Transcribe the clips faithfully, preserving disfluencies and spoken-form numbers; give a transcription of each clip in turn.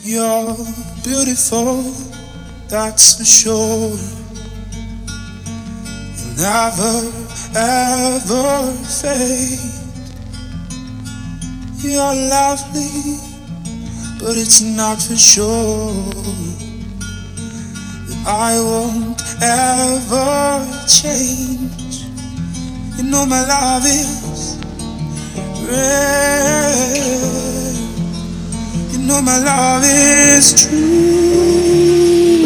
You're beautiful, that's for sure. You'll never, ever fade. You're lovely, but it's not for sure that I won't ever change. You know my love is real. You know my love is true.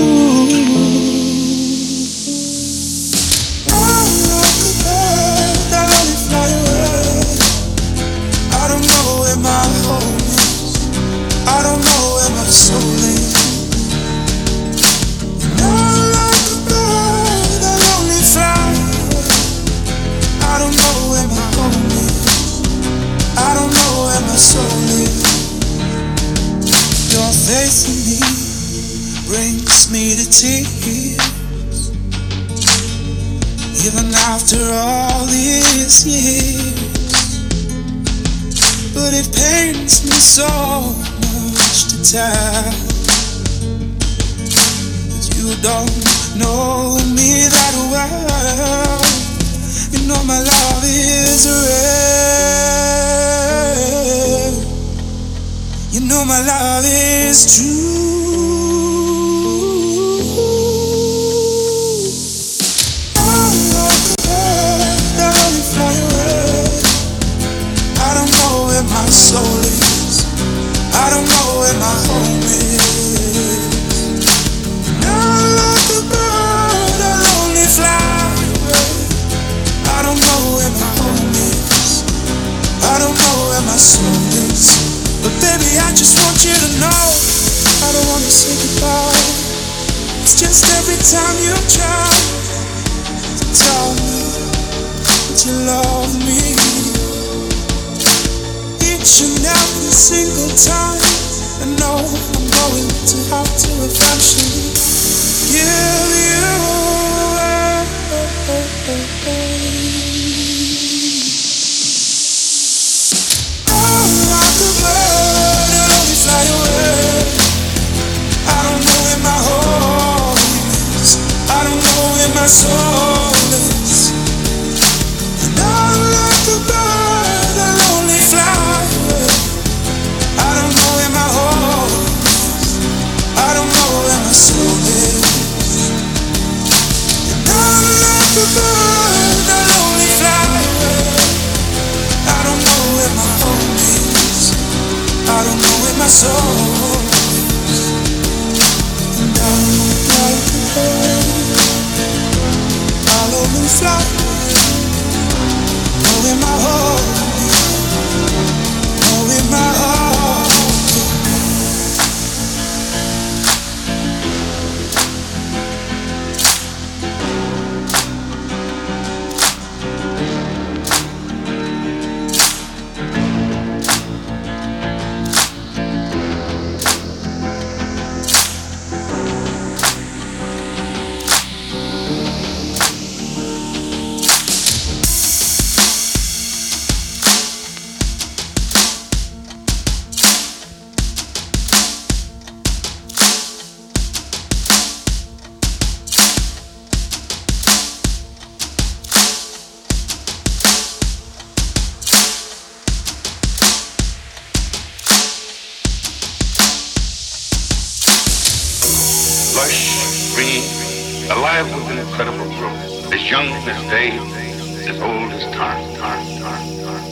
I'm like a bird that only fly away. I don't know where my home is. I don't know where my soul is. And I'm like a bird that only fly away. I don't know where my home is. I don't know where my soul is. Your faith in me brings me to tears, even after all these years. But it pains me so much to tell that you don't know me that well. You know my love is real. You know my love is true. I'm like a bird that only fly away. I don't know where my soul is. I don't know where my home is. I'm like a bird that only fly away. I don't know where my home is. I don't know where my soul is. But baby, I just want you to know I don't want to say goodbye. It's just every time you try to tell me that you love me, each and every single time I know I'm going to have to eventually give you away. I'm like a bird that only fly away. I don't know where my home is. I don't know where my soul is. And I'm like a bird that only fly away. I don't know where my home is. I don't know where my soul is. And I'm like a bird that only fly away. I don't know where my home is. I don't know where my soul is. And I'm like a bird, I'll only fly. Know where my home is. Know where my heart is. Lush, green, alive with an incredible growth, as young as day, as old as time, time, time, time.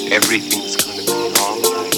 Everything's gonna be alright.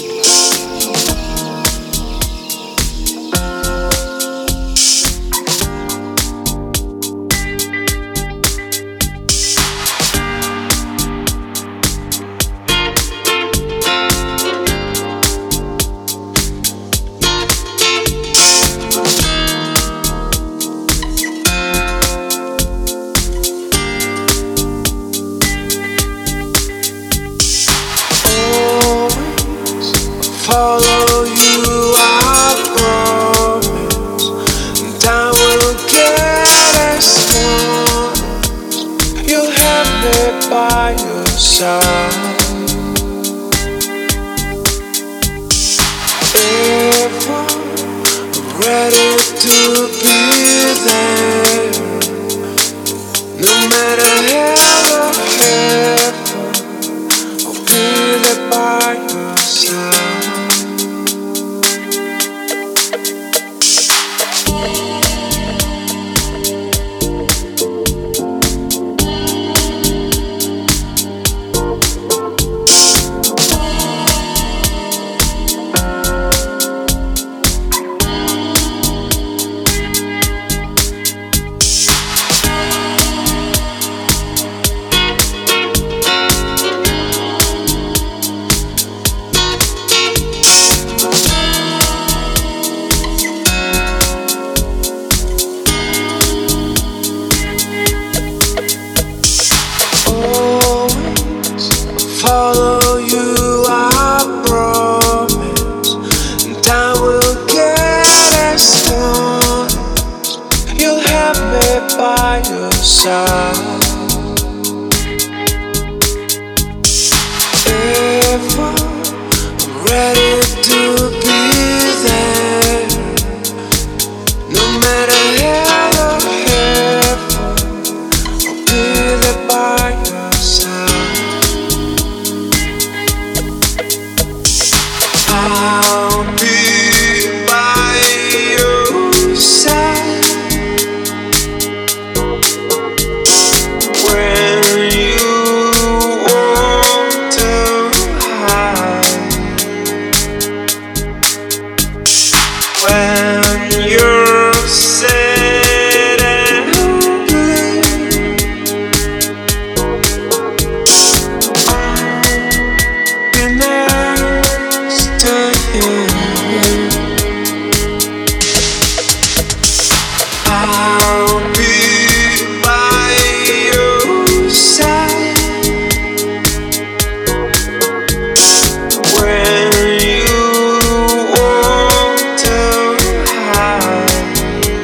Follow you, I promise, and I will get as one. You'll have me by your side. If I'm ready to be there, no matter hell or heaven, I'll be there by your side. Follow you, I promise, and I will get as one. You'll have me by your side. If I'm ready to be there, no matter hell or heaven, I'll be there by your side. I'll be by your side when you want to hide, when you're sad and blue. I'll be next to you. I'll be by your side when you want to hide,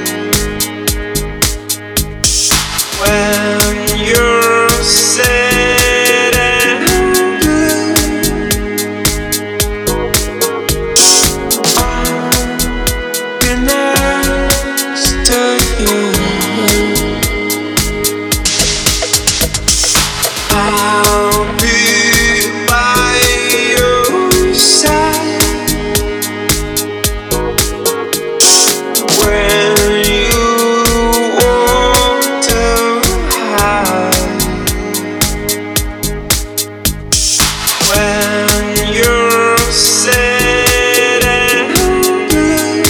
when you're sad and blue. I'll be next to you. I'll be by your side when you want to hide, when you're sad and blue.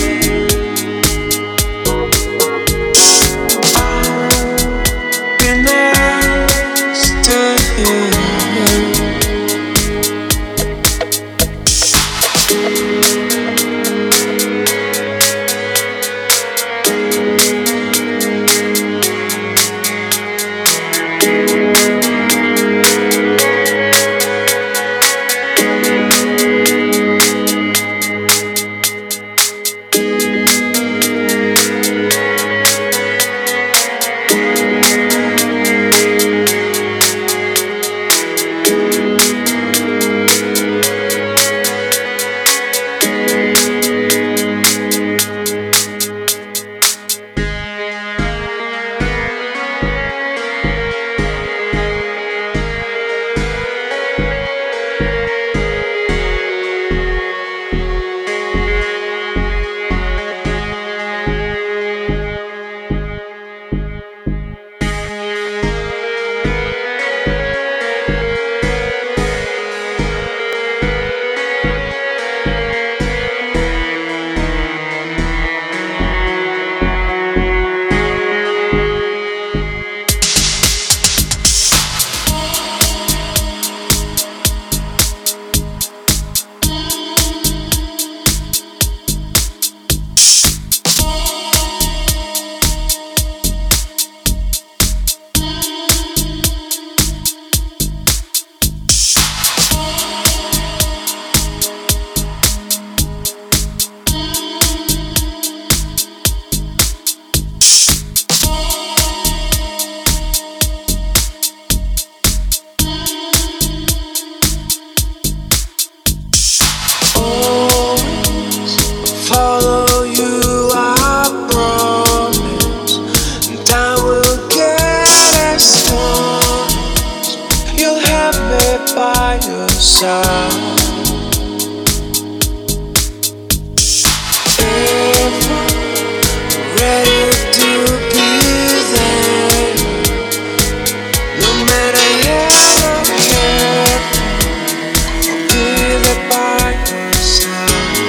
I'll be next to you. by your side. Ever ready to be there, no matter how or how, I'll be there by your side.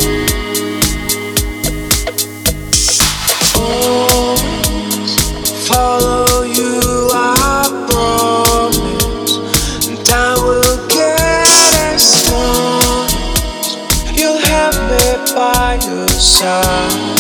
Always follow you, I promise, and I will get as long as you'll have me by your side.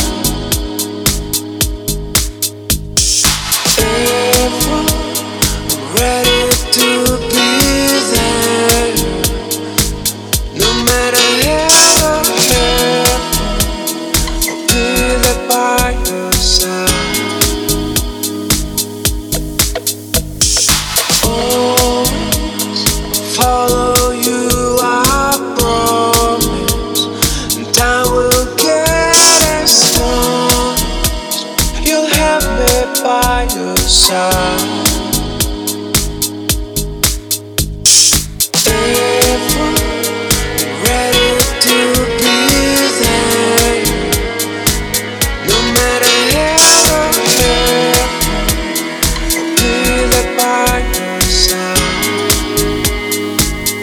Ever ready to be there, no matter how or how, I'll be there by your side. Always follow you, I promise, and I will get as long as you'll have me by your side. Ever ready to be there, no matter how or how, I'll be there by your side.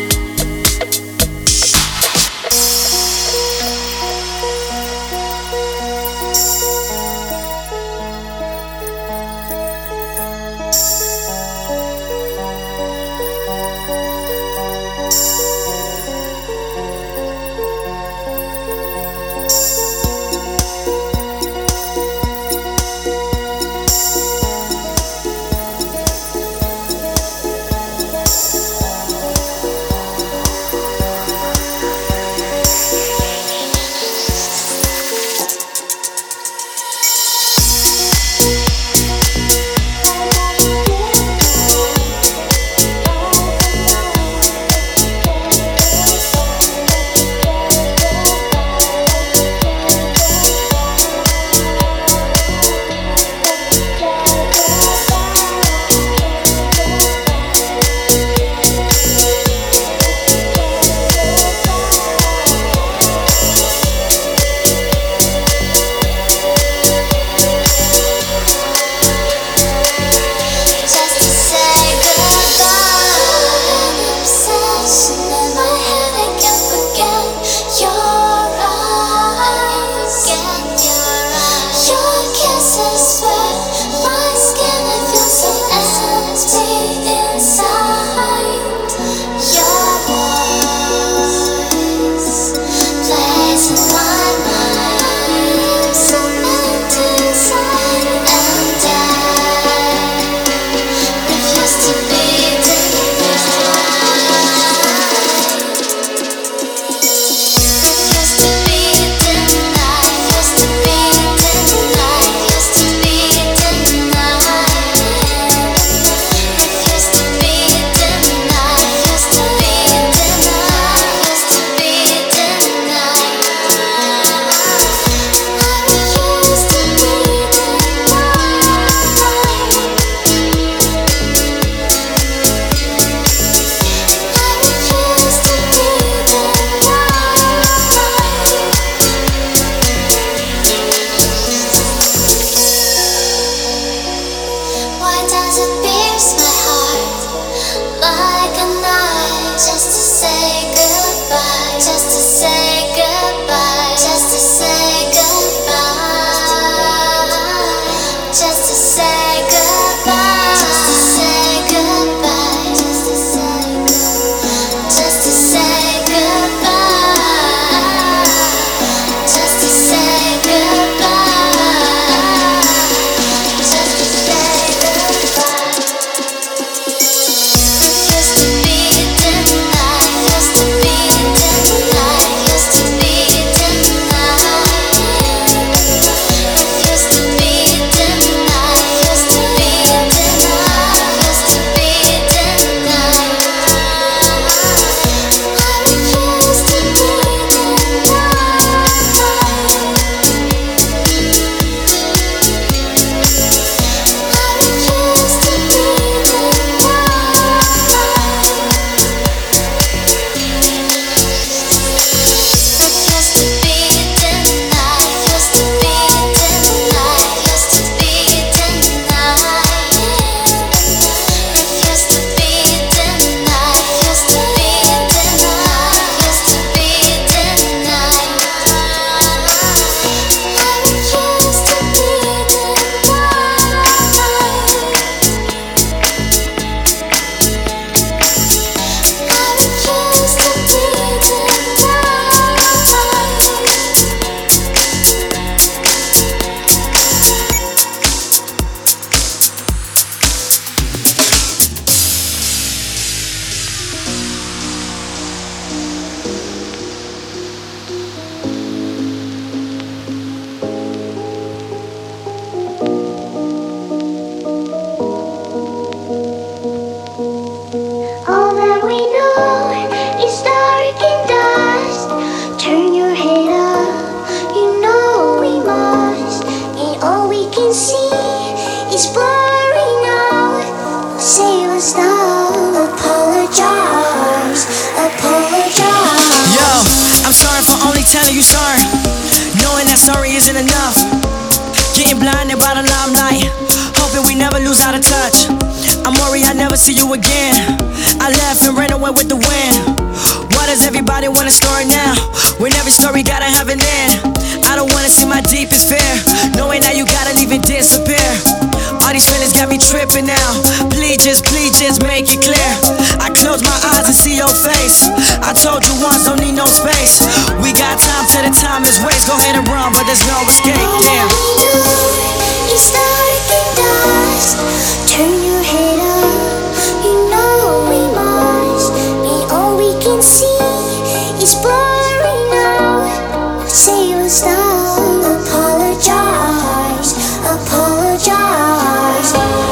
save us now. Apologize, apologize. Yo, I'm sorry for only telling you sorry, knowing that sorry isn't enough. Getting blinded by the limelight, hoping we never lose out of touch. I'm worried I never see you again. I left and ran away with the wind. Why does everybody want a story now, when every story gotta have an end? I don't wanna see my deepest fear, knowing that you gotta leave it disappear. All these feelings got me tripping now. Please just, please just make it clear. I close my eyes and see your face. I told you once, don't need no space. We got time till the time is waste. Go ahead and run, but there's no escape. Damn. It's dark and dust. Turn your head up. You know we must be all we can see. It's blurry now. Save us now. Apologize, apologize.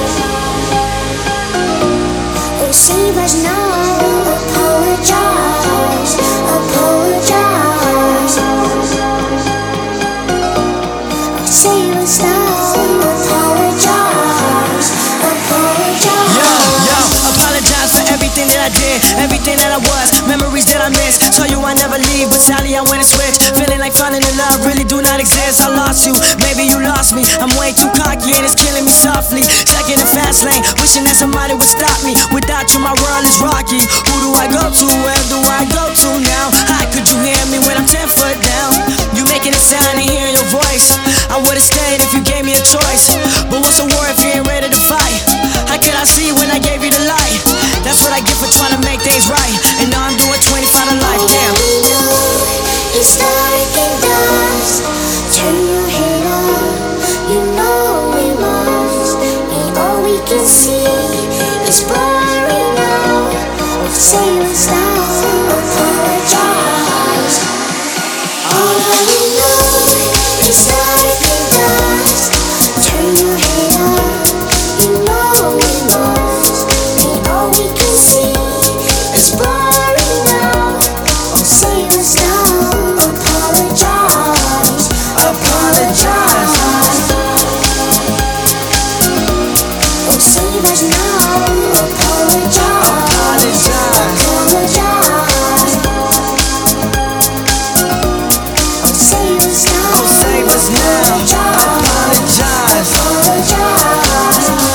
Oh, save us now. Apologize, apologize. Oh, save us now. Apologize, apologize. Yo, yo, apologize for everything that I did, everything that I was, memories that I missed. Told you I never leave, but sadly I went and switched. Feeling like falling in love really do not exist. I lost you, maybe you lost me. I'm way too cocky and it's killing me softly. Stuck in the fast lane, wishing that somebody would stop me. Without you my world is rocky. Who do I go to, where do I go to now? How could you hear me when I'm ten foot down? You making a sound and hearing your voice. I would've stayed if you gave me a choice, but what's a war if you ain't ready to fight? How could I see when I gave you the light? That's what I get for trying to make things right, and now I'm doing twenty-five to life, damn. It's dark and dust. Turn your head up. You know we must be all we can see. It's blurry now. Save us now. Apologize. All I know is dark and dust. Turn your head up. You know we must be all we can see. It's blurry now. Save us now. Apologize, apologize. Oh, save us now. Apologize, apologize. Oh, save us now. Oh, save us now. Apologize, apologize.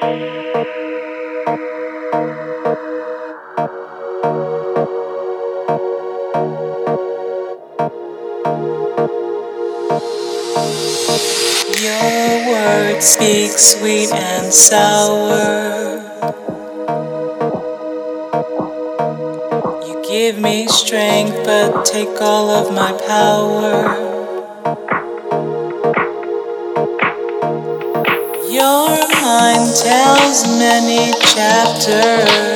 Your words speak sweet and sour. You give me strength but take all of my power. Your mind tells many chapters.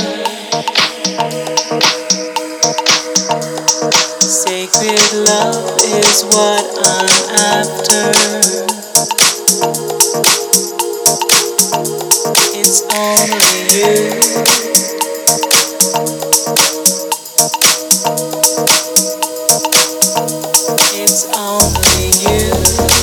Sacred love is what I'm after. It's only you. It's only you.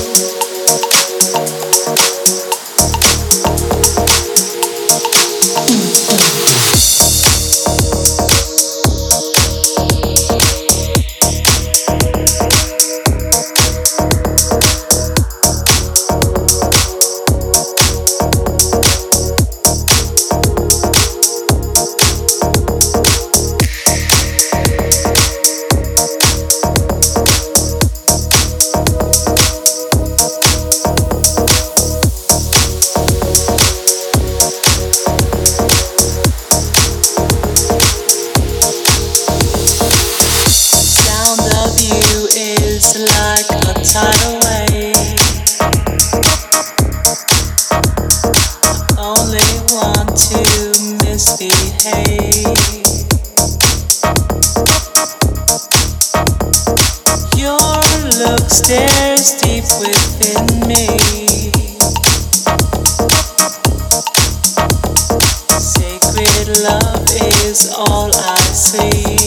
Like a tidal wave, I only want to misbehave. Your look stares deep within me. Sacred love is all I see.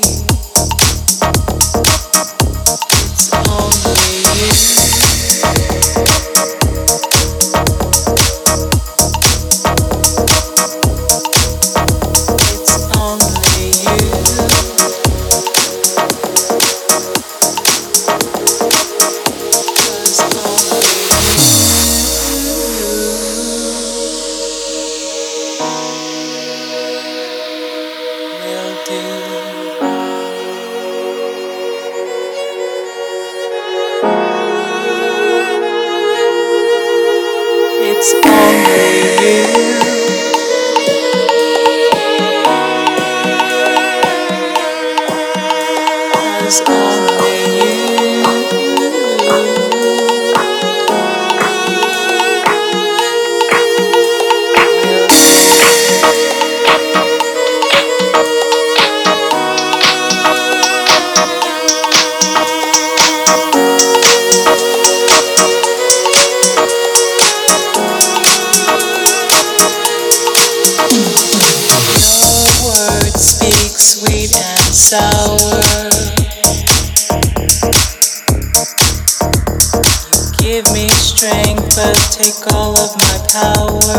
It's only you. It's only you. Sweet and sour. You give me strength but take all of my power.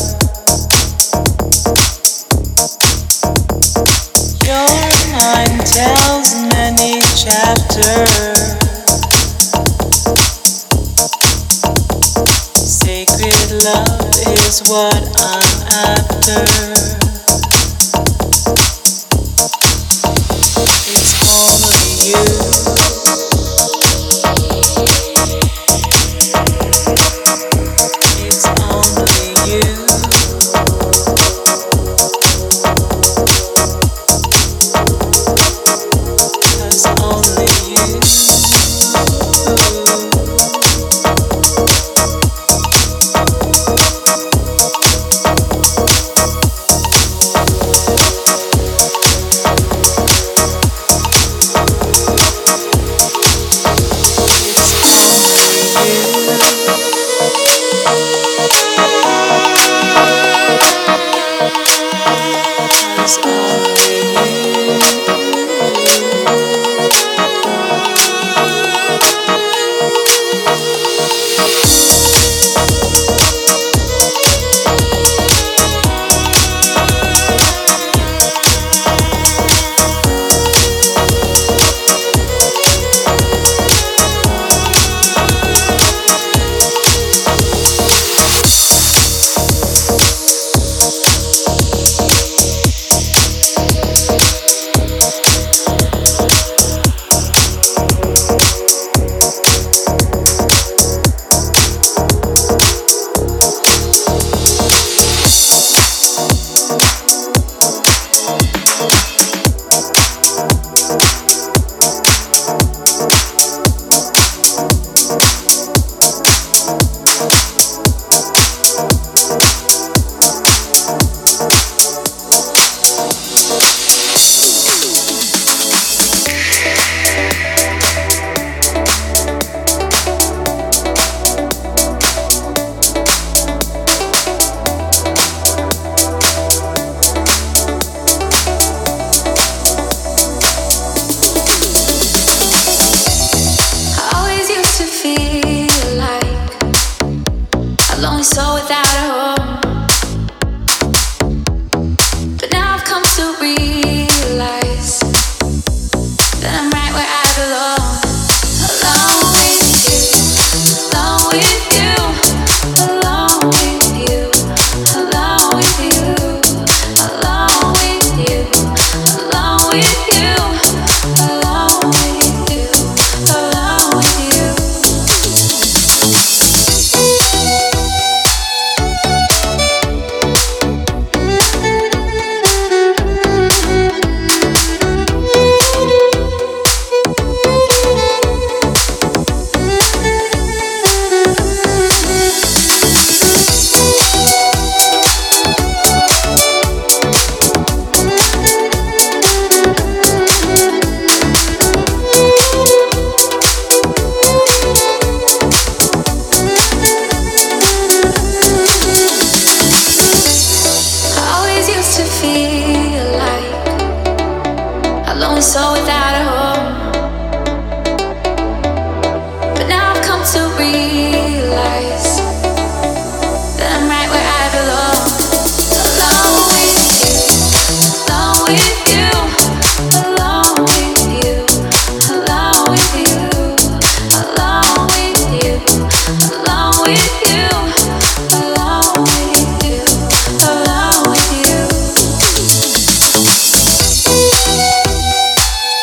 Your mind tells many chapters. Sacred love is what I'm after. soul without a home. But now I've come to realize that I'm right where I belong. Alone with you, alone with you, alone with you, alone with you, alone with you, alone with you, alone with you, alone with you.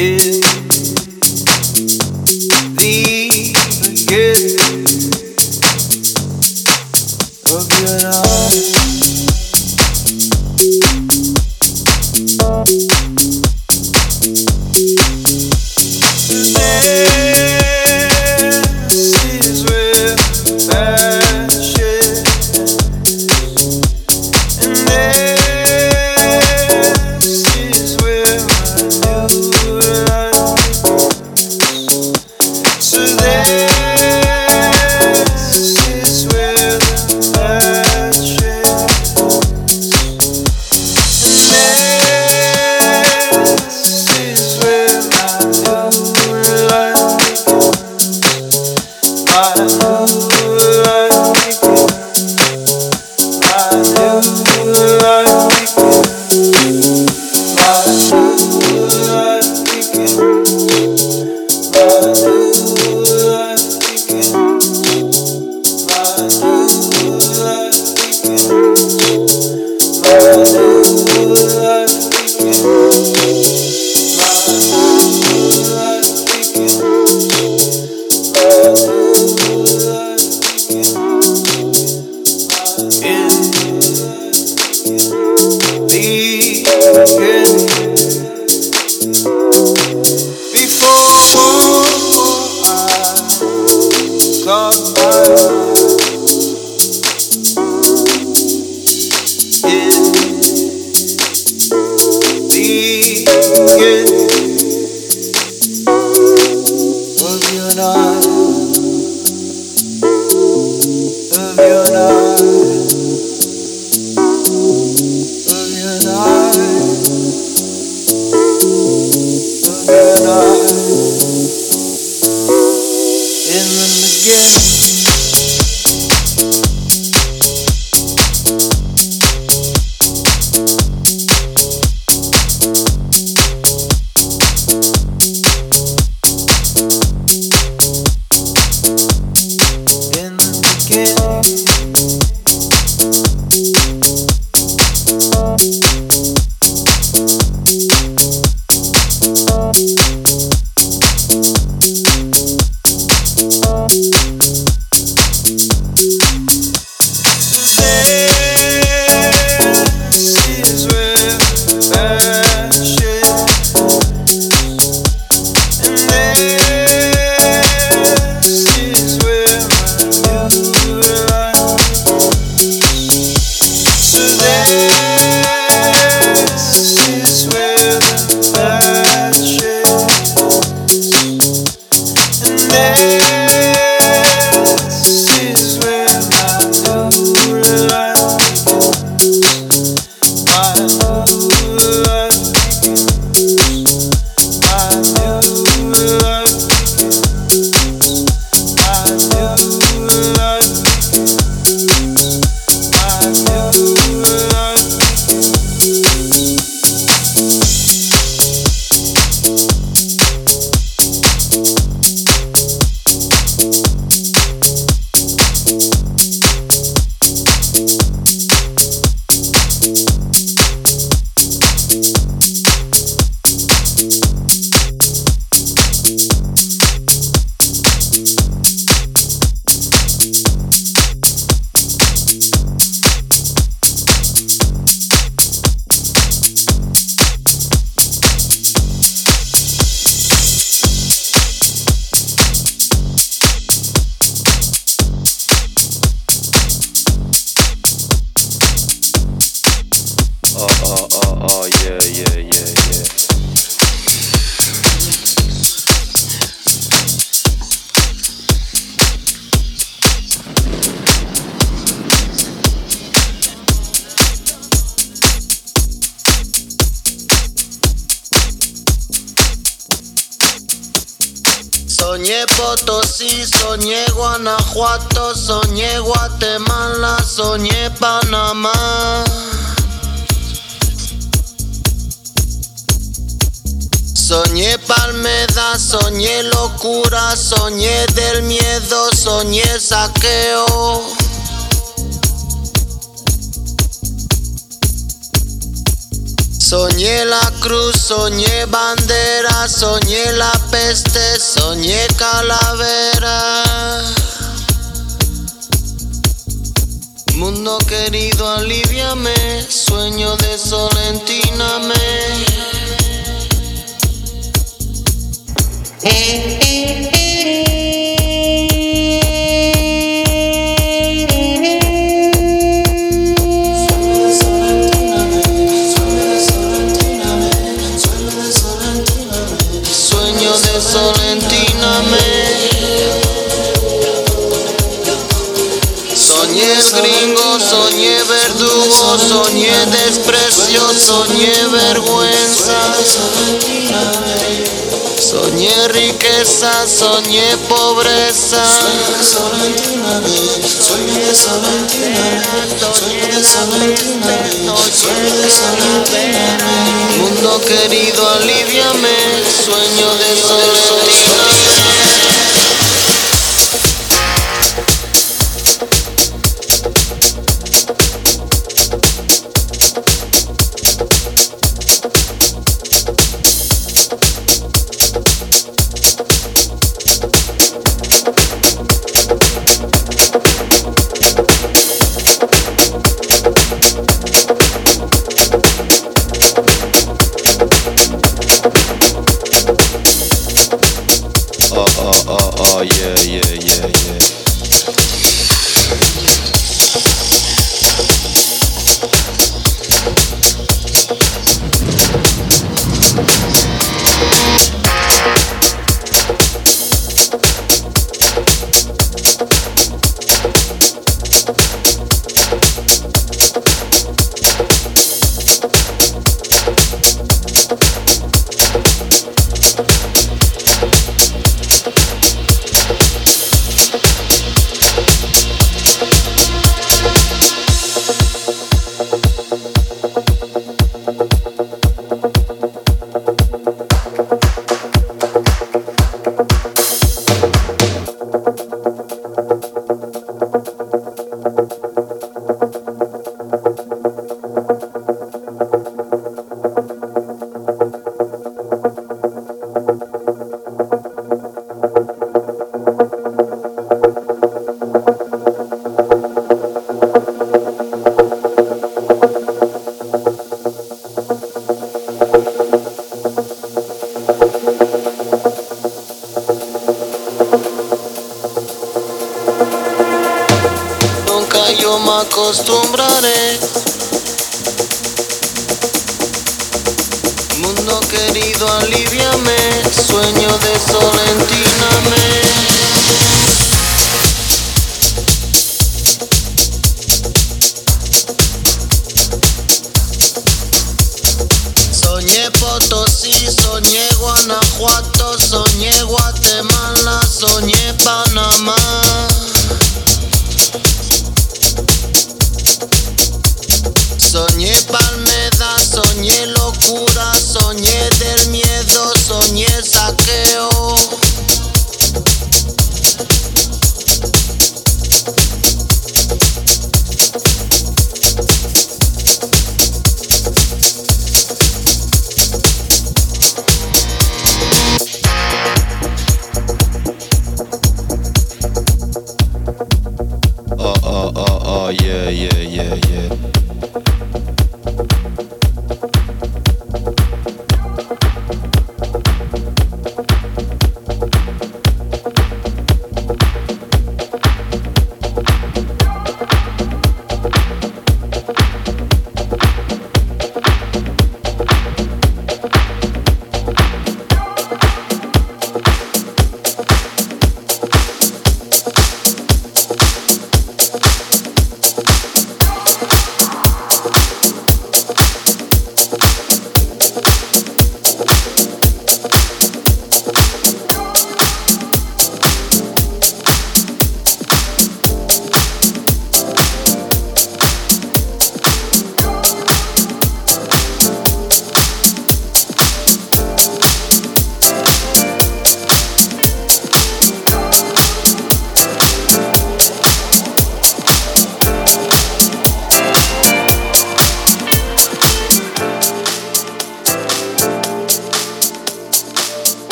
Soñé Potosí, soñé Guanajuato, soñé Guatemala, soñé Panamá. Soñé Palmeda, soñé locura, soñé del miedo, soñé saqueo. Soñé la cruz, soñé bandera, soñé la peste, soñé calavera. Mundo querido, aliviame, sueño de sol, entíname. Sueño de sol, entíname. Soñé gringo, soñé verdugo, soñé desprecio, soñé vergüenza. Soñé riqueza, soñé pobreza. Soñé de sol, mundo querido, aliviame, sueño de sol, entíname. Oh, oh, oh, oh, yeah, yeah, yeah, yeah. Nunca yo me acostumbraré. Mundo querido, aliviame, sueño de sol, entíname. Soñé Potosí, soñé Guanajuato, soñé Guatemala, soñé Panamá. Soñé Palmeda, soñé locura, soñé del miedo, soñé saqueo.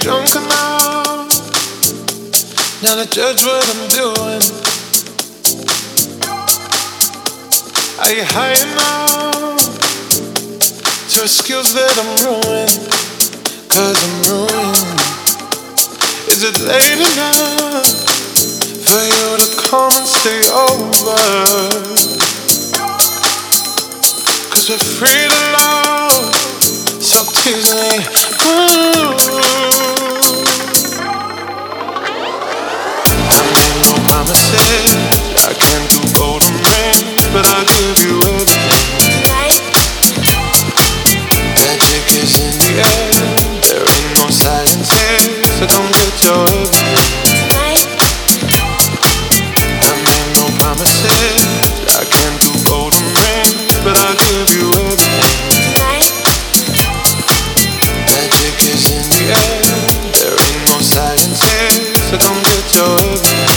drunk enough now to judge what I'm doing? Are you high enough to excuse that I'm ruined? Cause I'm ruined. Is it late enough for you to come and stay over? Cause we're free to love, so tease me. Ooh. I made no promises, I can't do golden rings, but I'll give you everything. Magic is in the air, there ain't no silence here, so come get your everything. I made no promises, I can't do golden rings, but I'll give you everything. Magic is in the air, there ain't no silence here, so come get your everything.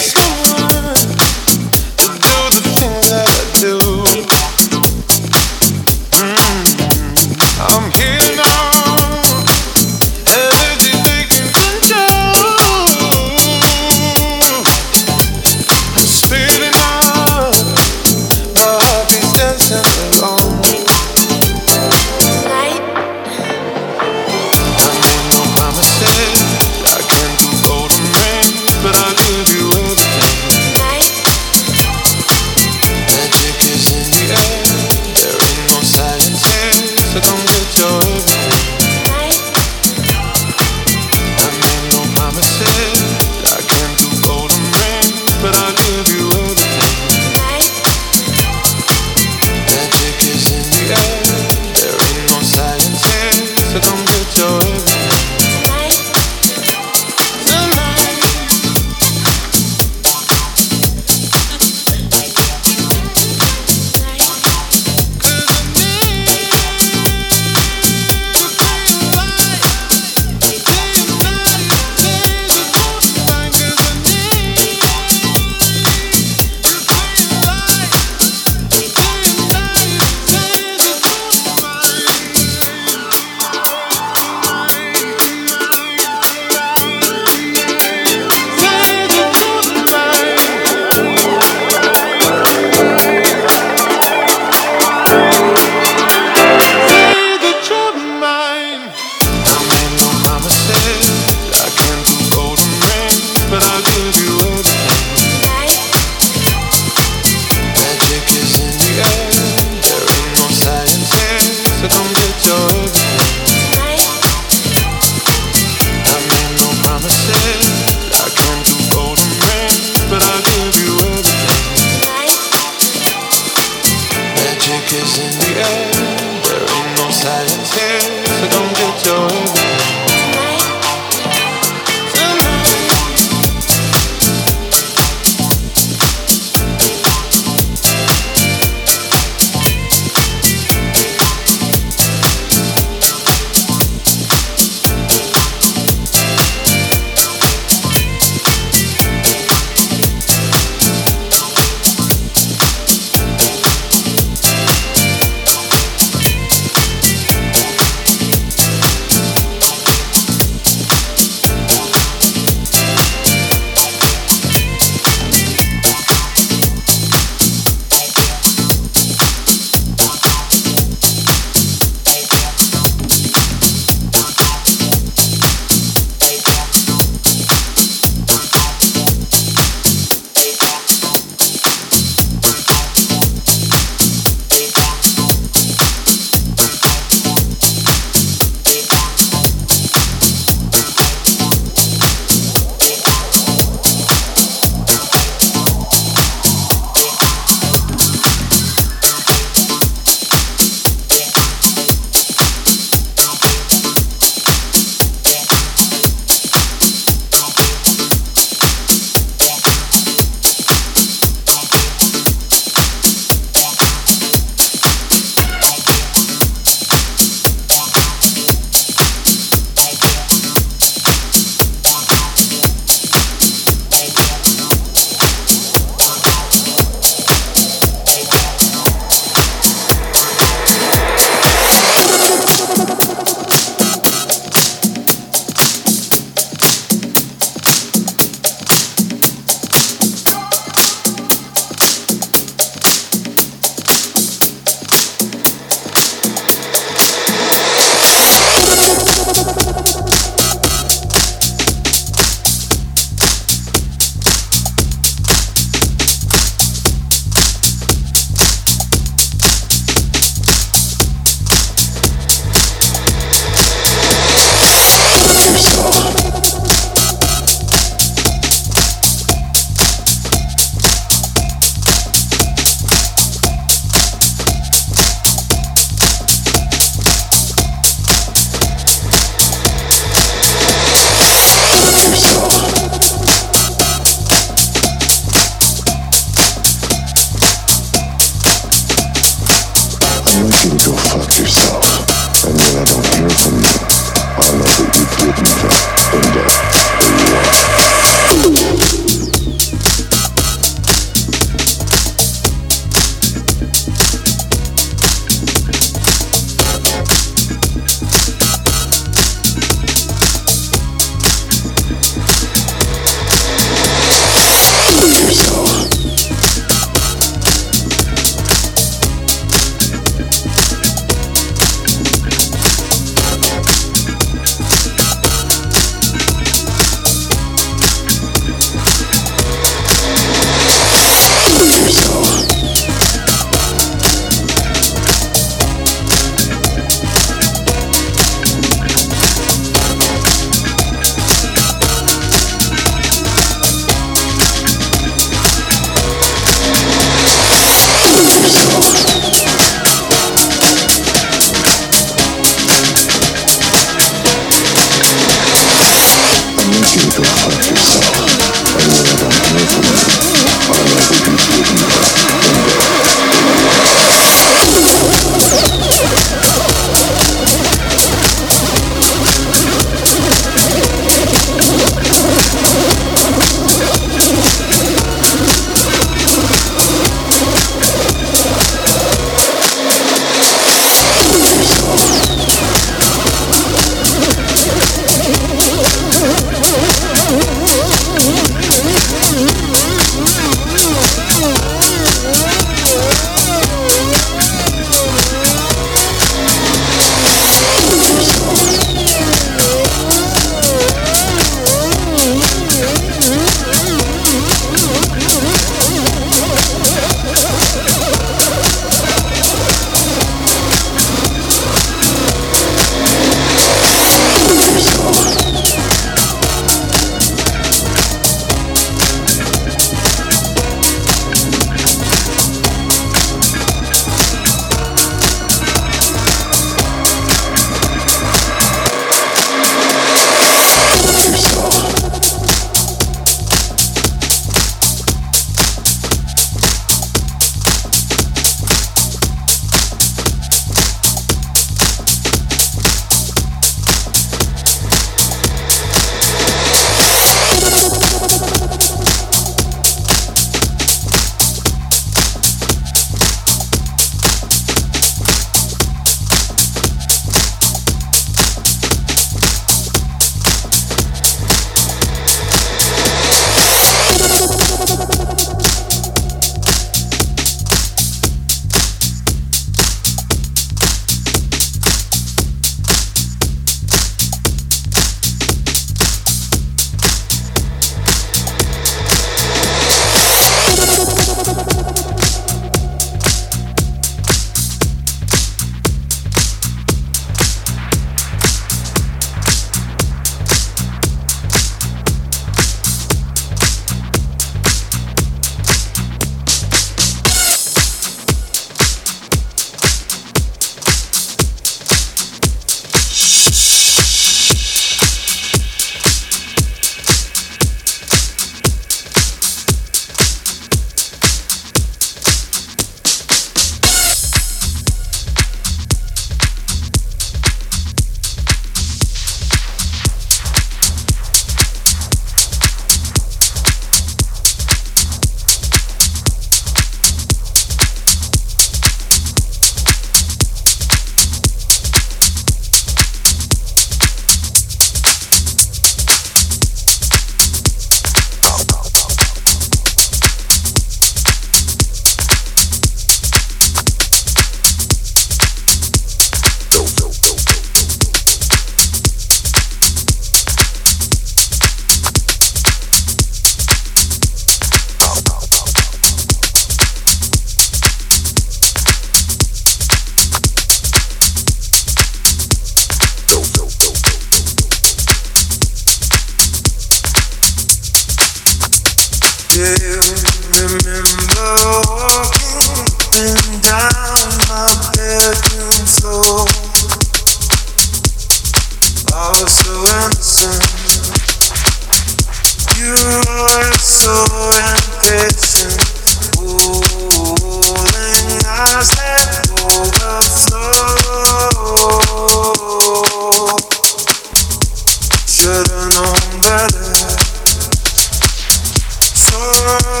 Should've known better. So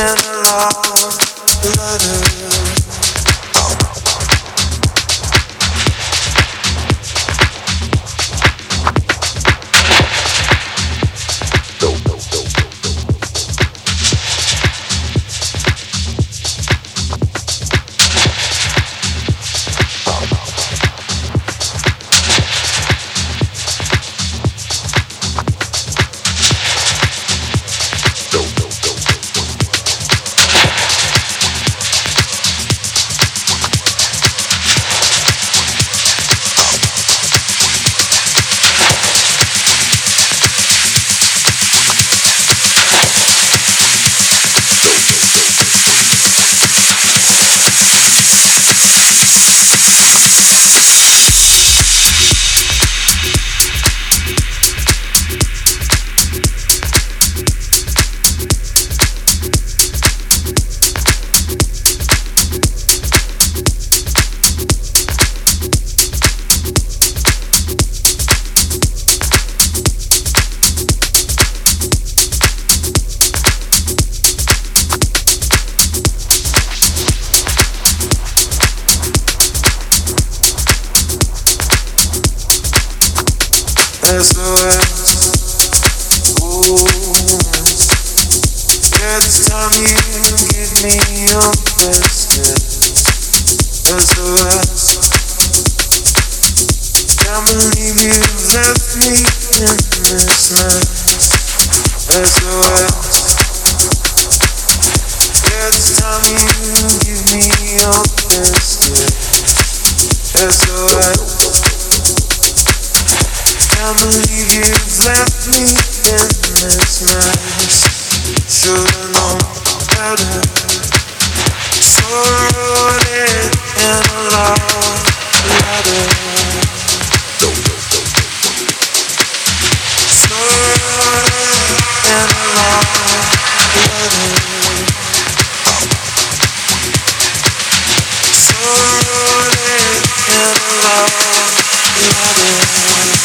and a love letter. S O S, ooh, yeah, this time you give me your best, yeah. S O S, can't believe you've left me in this mess. S O S, yeah, this time you give me your best, yeah. S O S, can't believe you've left me in this mess. Should've known better. So I wrote it in a love letter. So I wrote it in a love letter. So I wrote it in a love letter.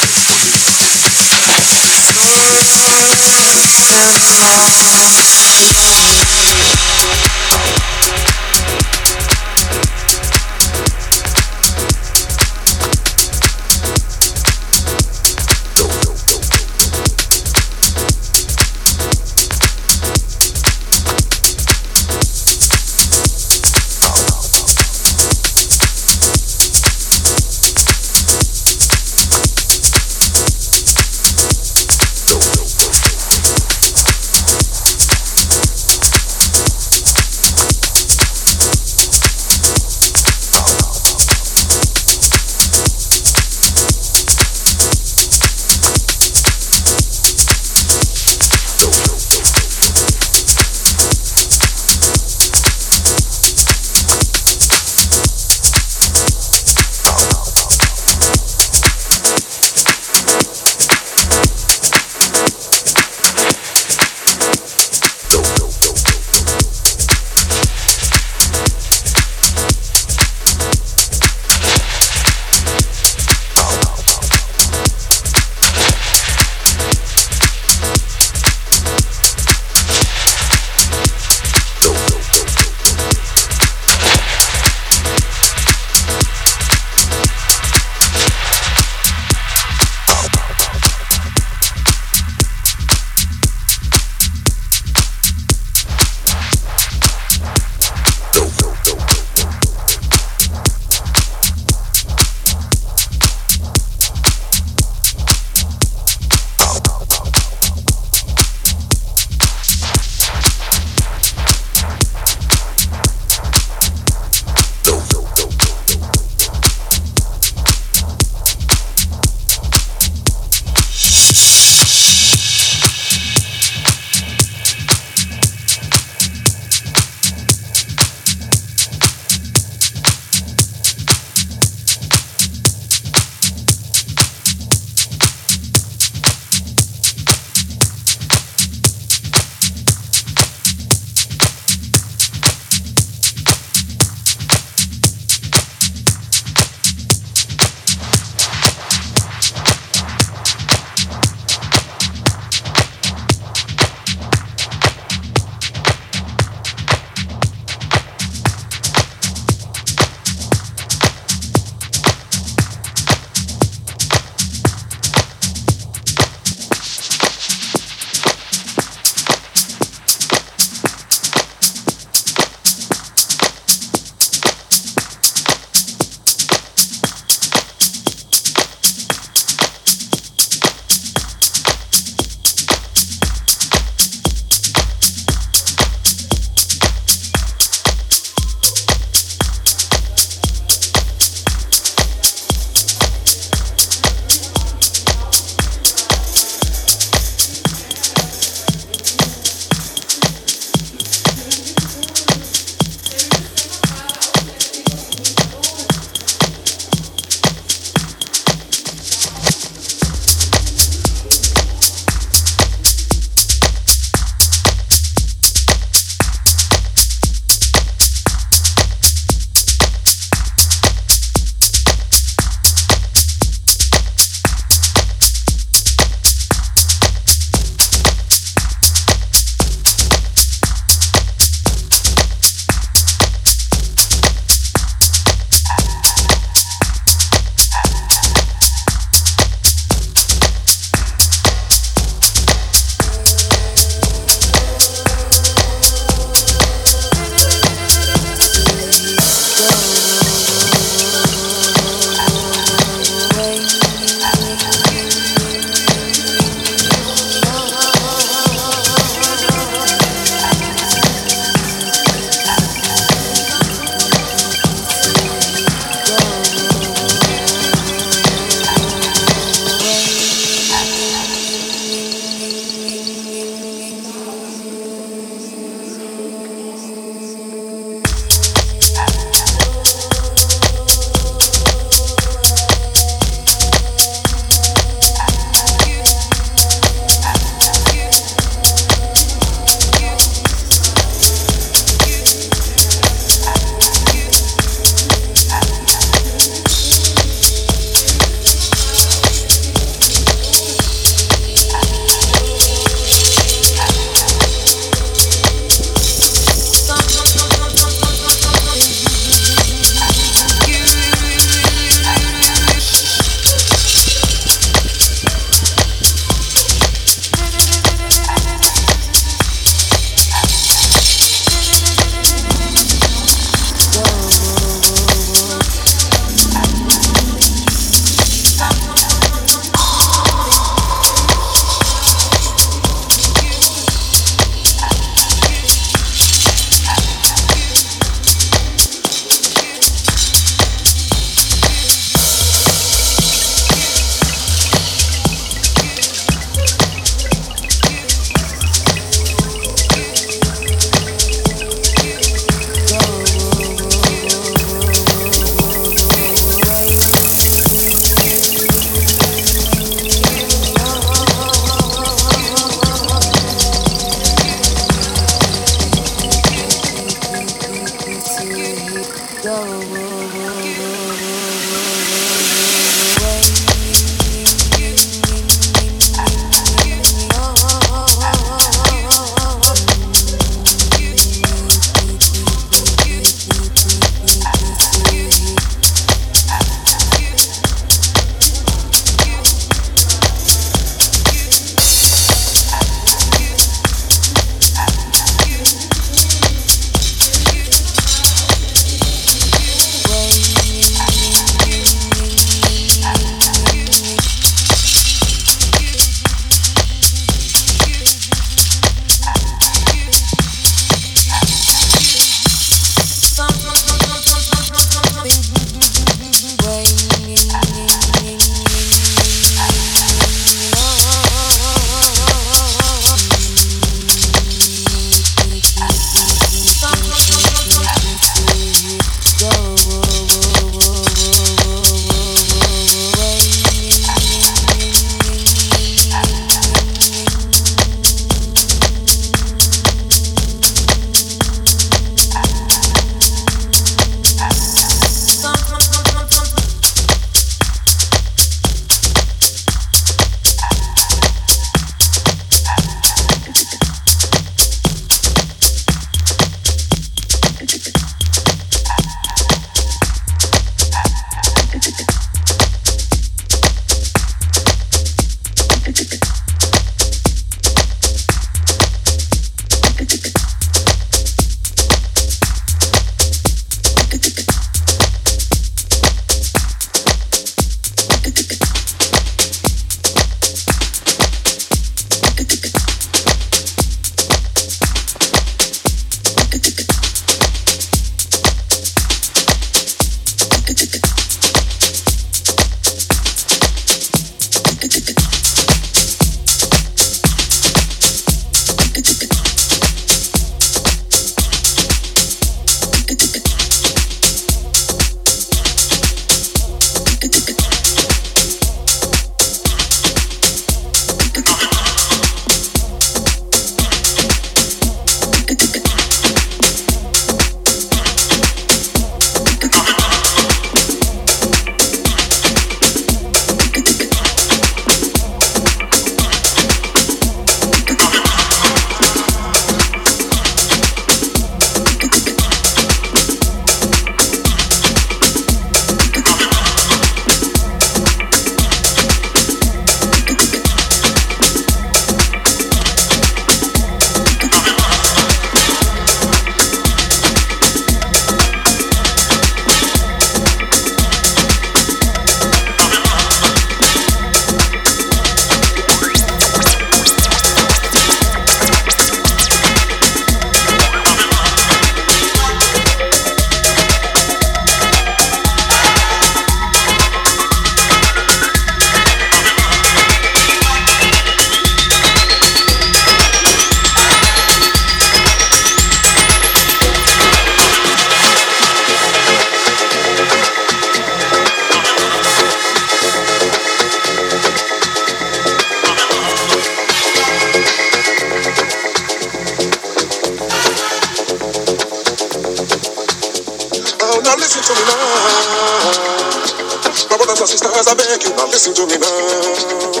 to me now. My brothers and sisters, I beg you, now listen to me now.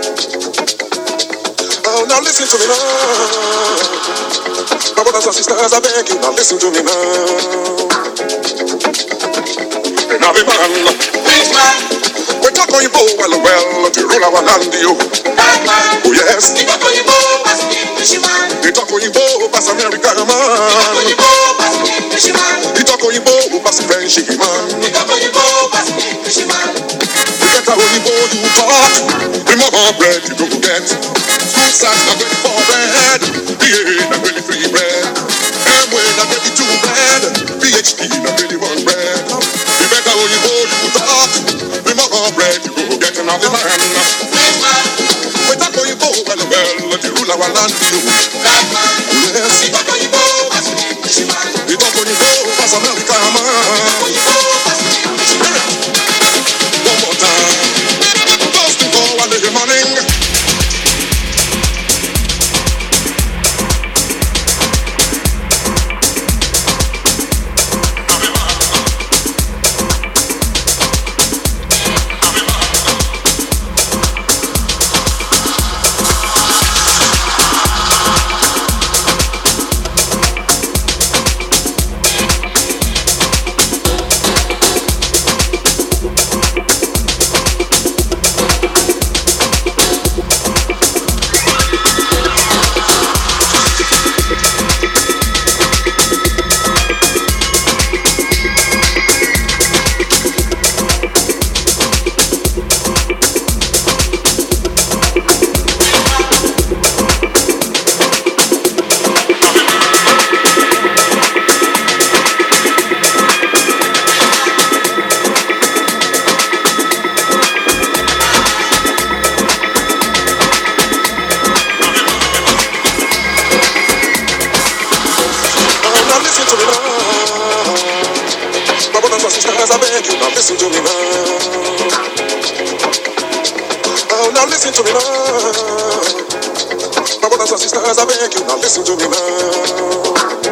Oh, now listen to me now. My brothers and sisters, I beg you, now listen to me now. And I'll be man, please man. We talk on you well, well, to rule our land, you. Oh yes. We talk on you as Englishman. We talk on you as American man. We talk on you as Englishman. We talk on you as French man. We talk on you as Englishman. We get our you you talk. Remember bread you go get. School size not ready for bread. B A not ready free bread. M W not ready two bread. P H D not ready one bread. You better when you go you talk. Remember bread you go get another man. We talk on you well well to rule our land you. Yes. We talk on you as Englishman. We talk on you as American man. One more time. First thing for one day morning. Listen to me now. Oh, now listen to me now. My brothers and sisters, I beg you, now listen to me now.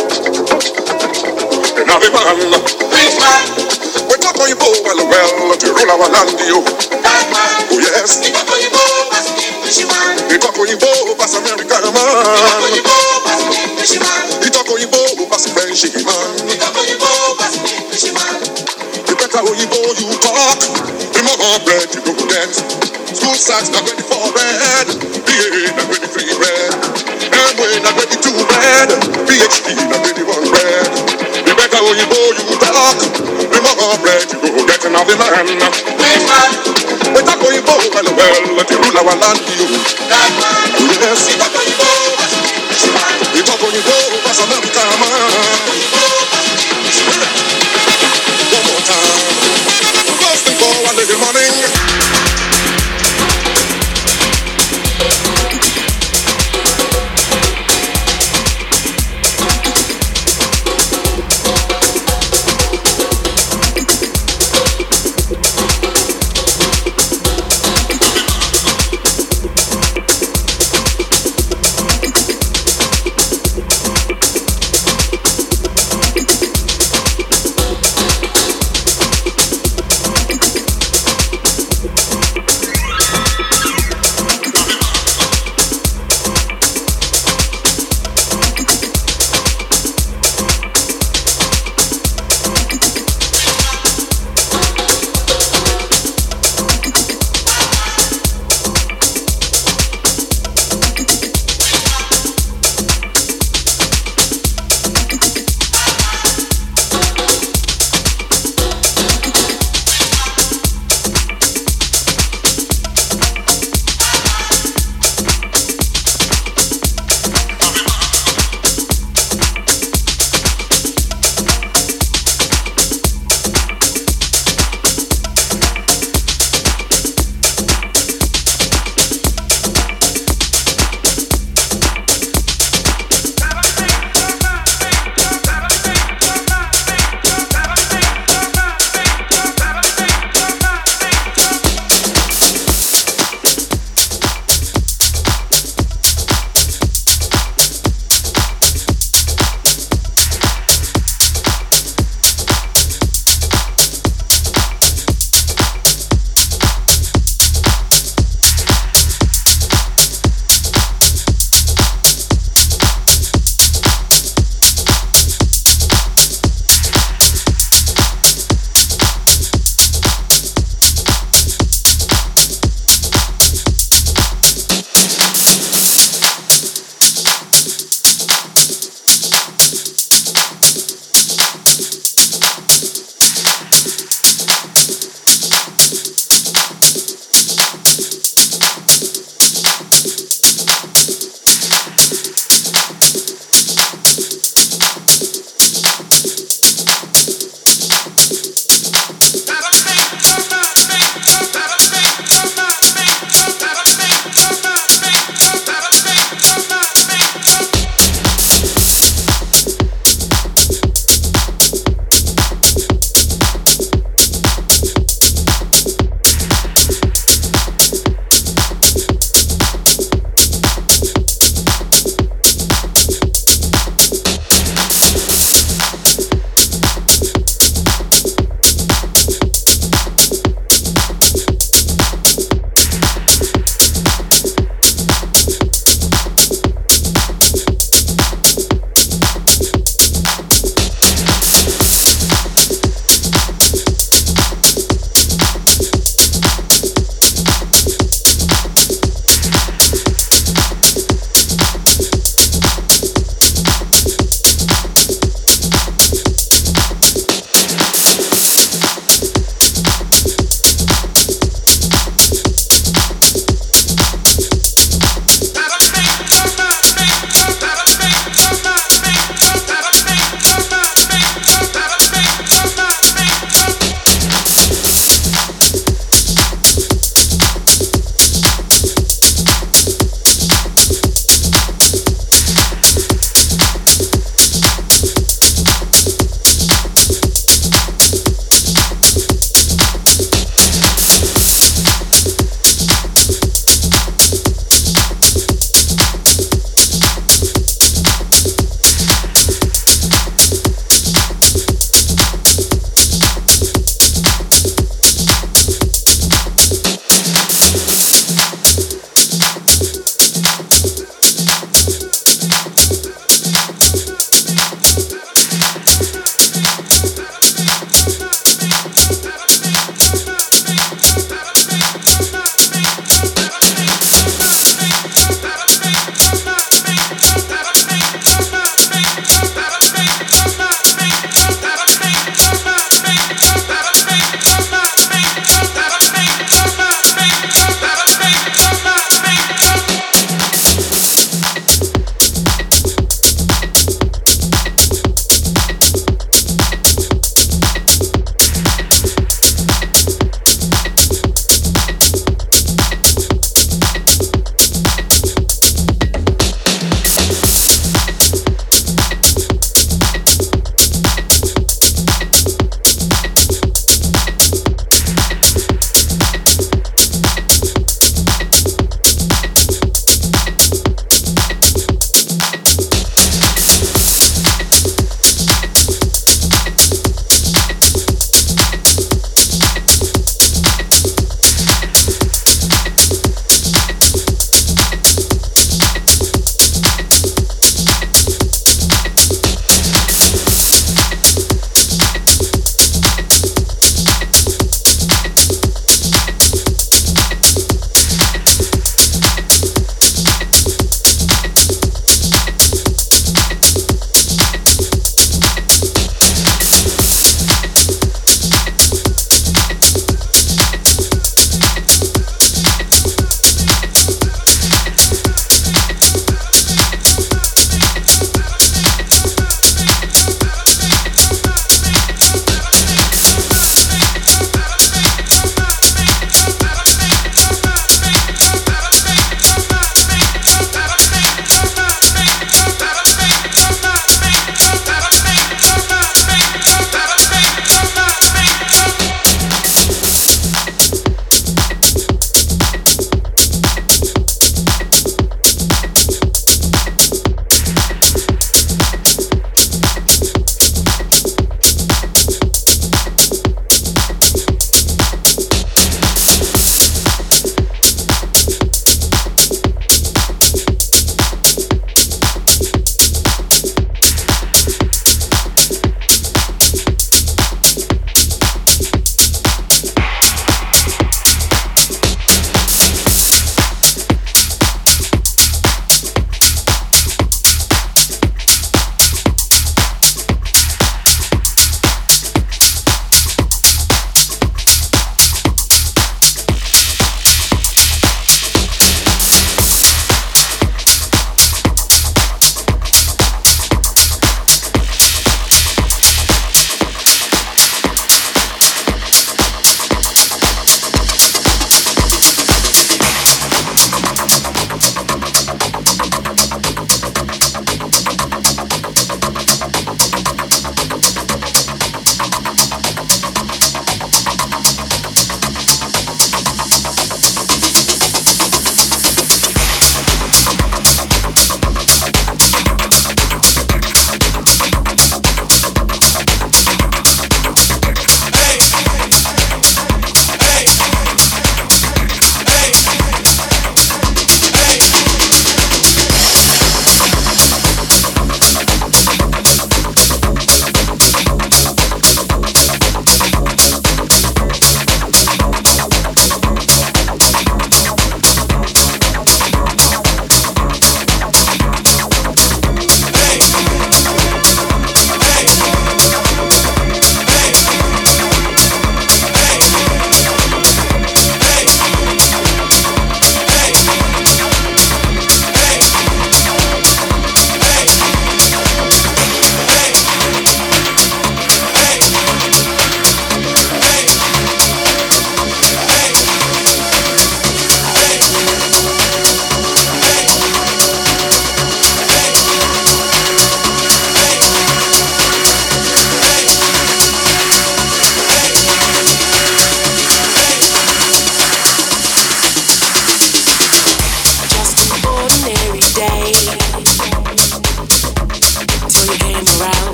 And I'll be man, please man. We talk on you well, well, to rule our land, you. Oh yes. We talk on you as Englishman. We talk on you as American man. We talk on you as Englishman. We talk on you as French man. We talk on you as Englishman. Better when you go, you talk. Remember bread you go get. School size not ready for bread. B A not ready free bread. M W not ready two bread. P H D not ready one bread. You better when you go, you talk. Remember bread you go get another man. Please man. We talk when you go well well to rule our land you. Yes. We talk when you go as Englishman. We talk when you go as American man. One more time. First thing for one day morning.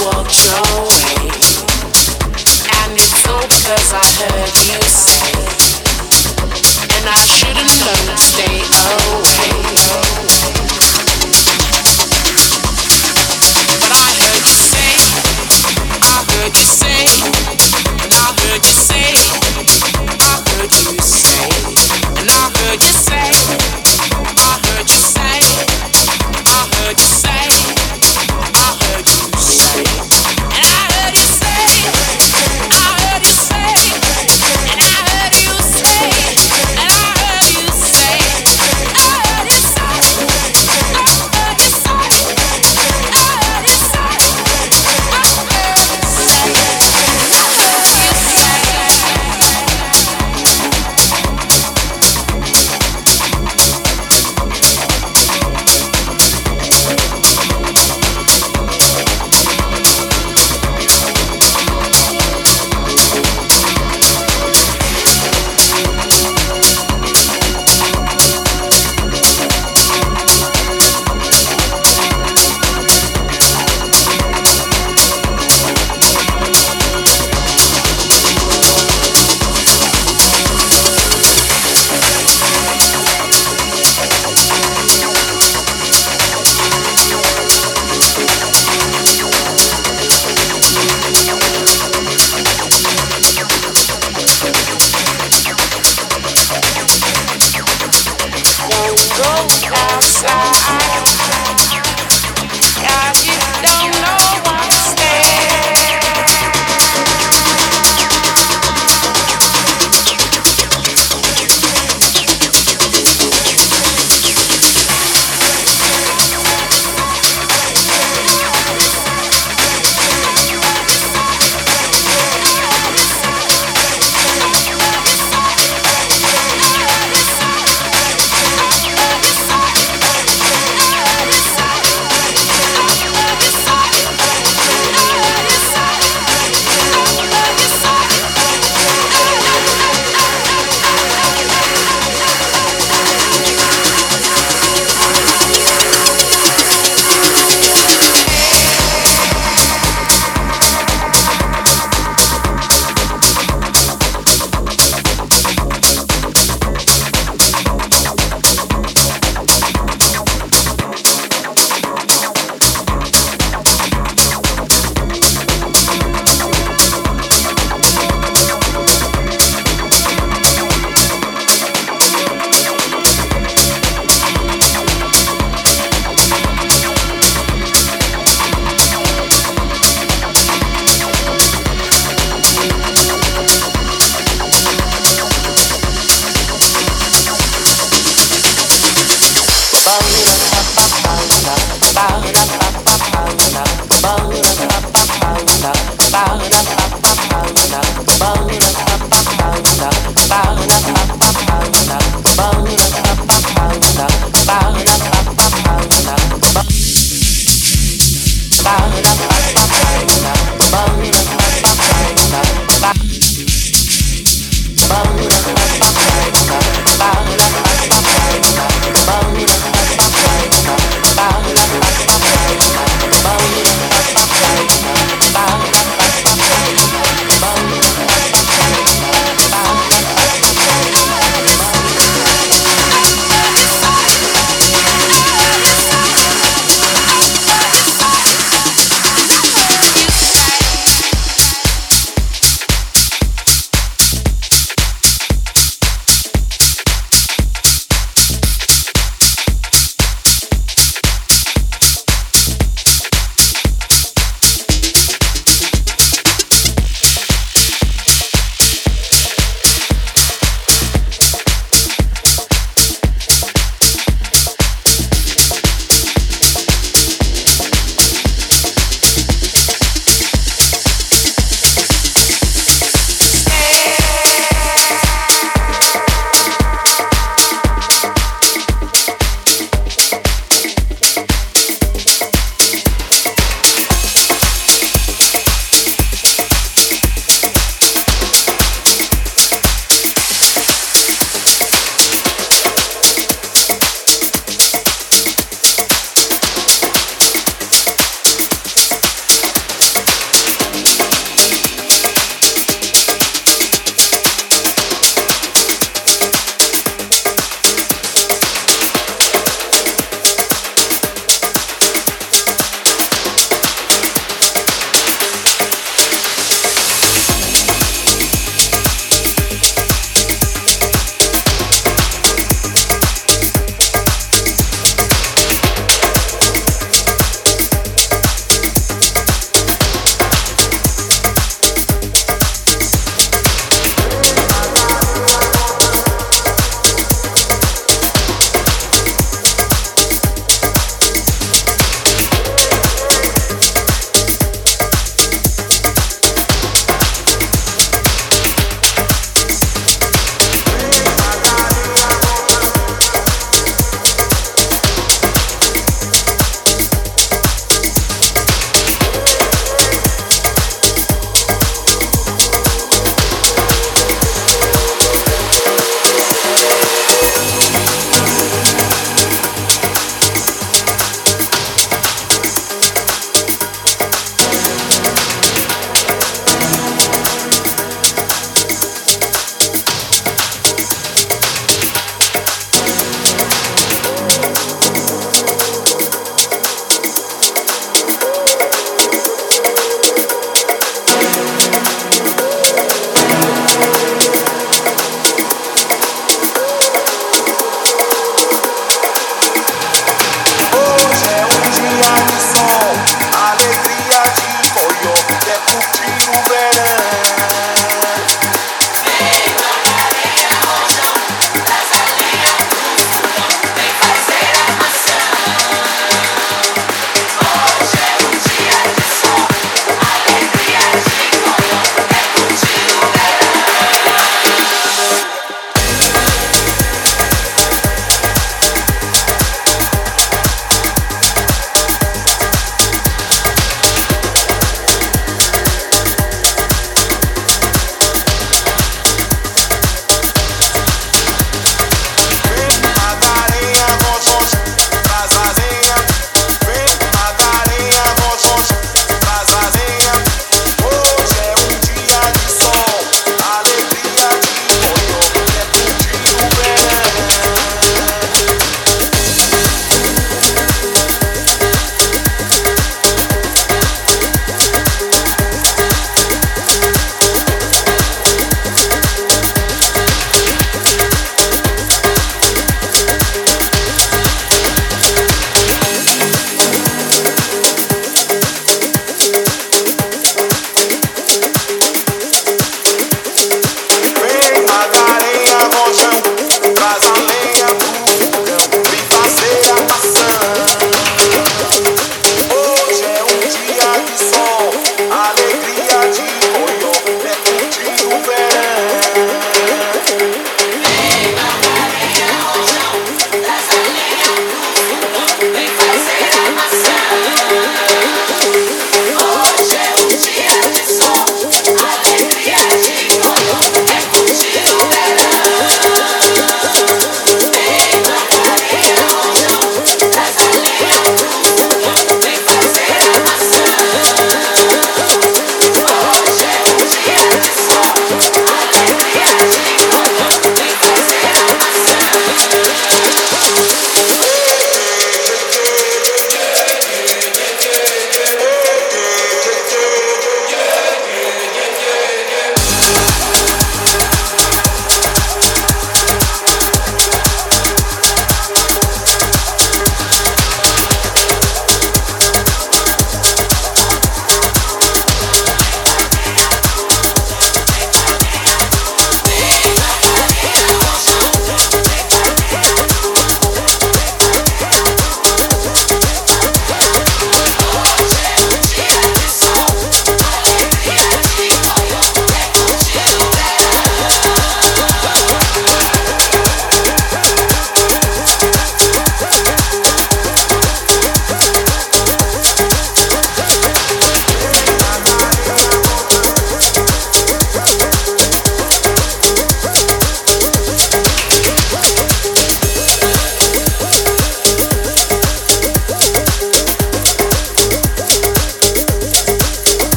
walked your way, and it's all because I heard you say, and I should've known to stay away. But I heard you say, I heard you say, and I heard you say, I heard you say, and I heard you say, I heard you say, I heard you say, I heard you say, and I heard you say, I heard you say, and I heard you say, and I heard you say.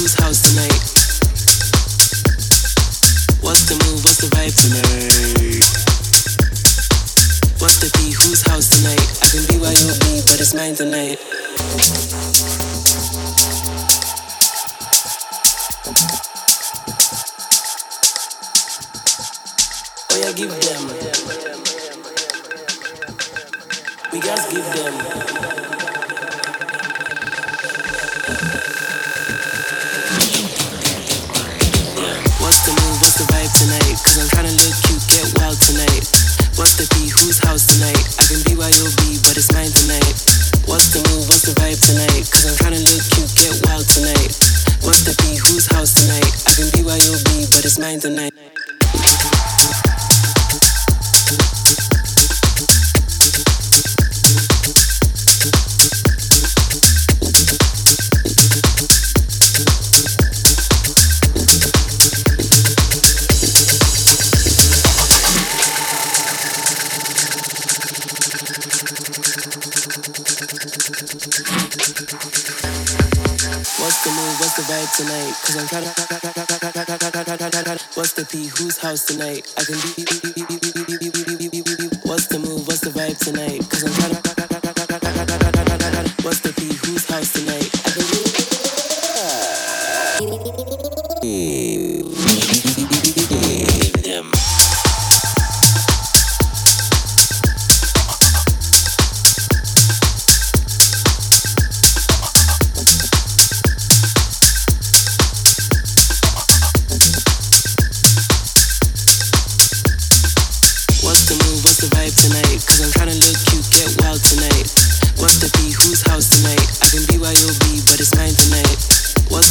whose house tonight? What's the move, what's the vibe tonight? What's the P, whose house tonight? I can be Y O B, but it's mine tonight. Oh yeah, give them. We guys give them. What's the move, what's the vibe tonight? Cause I'm tryna look cute, get wild tonight. What's the P, whose house tonight? I can be Y O B, but it's mine tonight. What's the move, what's the vibe tonight? Cause I'm tryna look cute, get wild tonight. What's the P, whose house tonight? I can be Y O B, but it's mine tonight. What's the move, what's the vibe tonight? Cause I'm tryna. What's the P, whose house tonight? I can be. What's the move, what's the vibe tonight? Cause I'm tryna. What's the P, whose house tonight? I can be. Them. Tonight, cause I'm tryna look cute, get wild tonight. What's the P, whose house tonight? I can be Y O B, but it's mine tonight. What's the move, what's the vibe tonight? Cause I'm tryna look cute, get wild tonight. What's the P, whose house tonight? I can be. What's the move, what's the vibe tonight? Cause I'm tryna look cute, get wild tonight. What's the P, whose house tonight? I can be Y O B, but it's mine tonight. What's the move, what's the vibe tonight? Cause I'm tryna look cute, get wild tonight. What's the P, whose house tonight? I can be.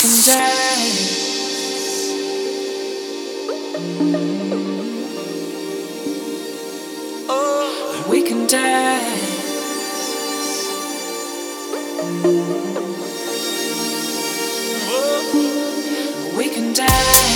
can dance. Oh, we can dance. Oh, we can dance.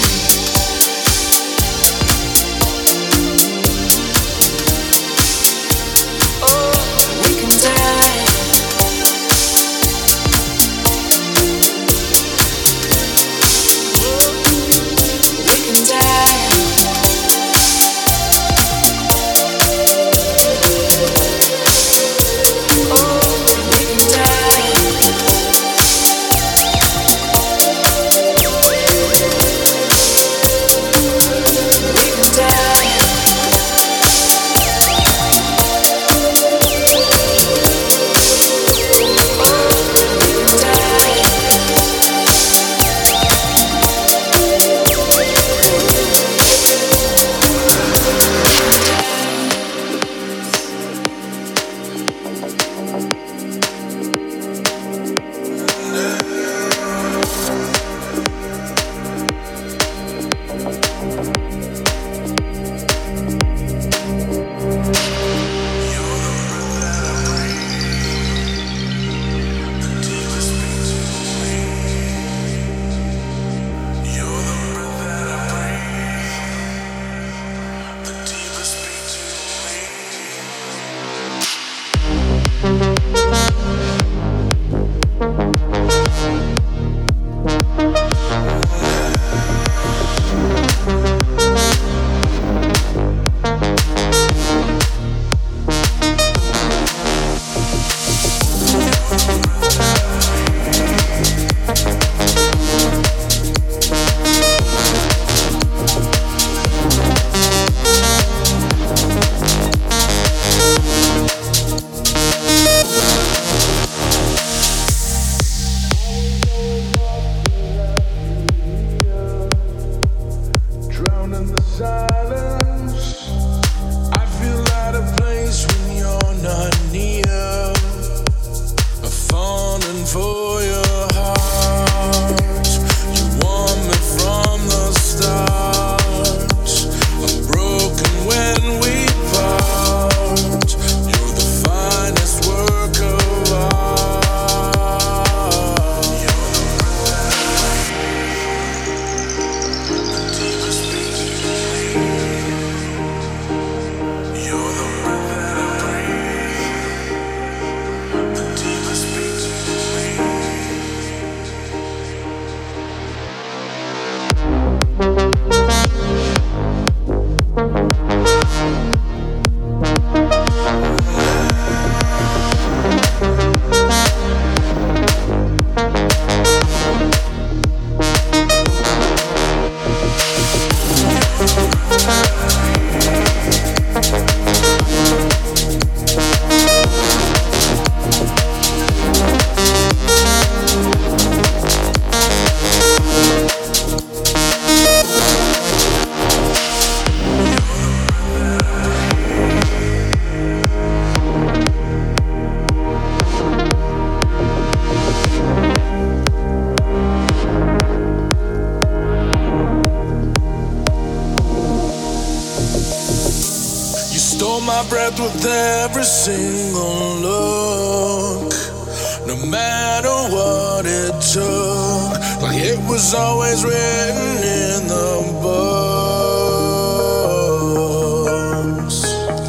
With every single look, no matter what it took, like it was always written in the books.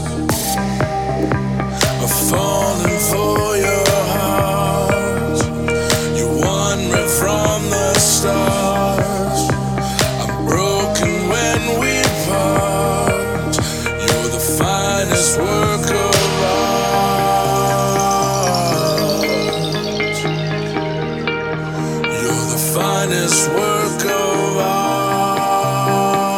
I'm falling for your heart. You won me from the start. I'm broken when we part. You're the finest work of art. You're the finest work of art.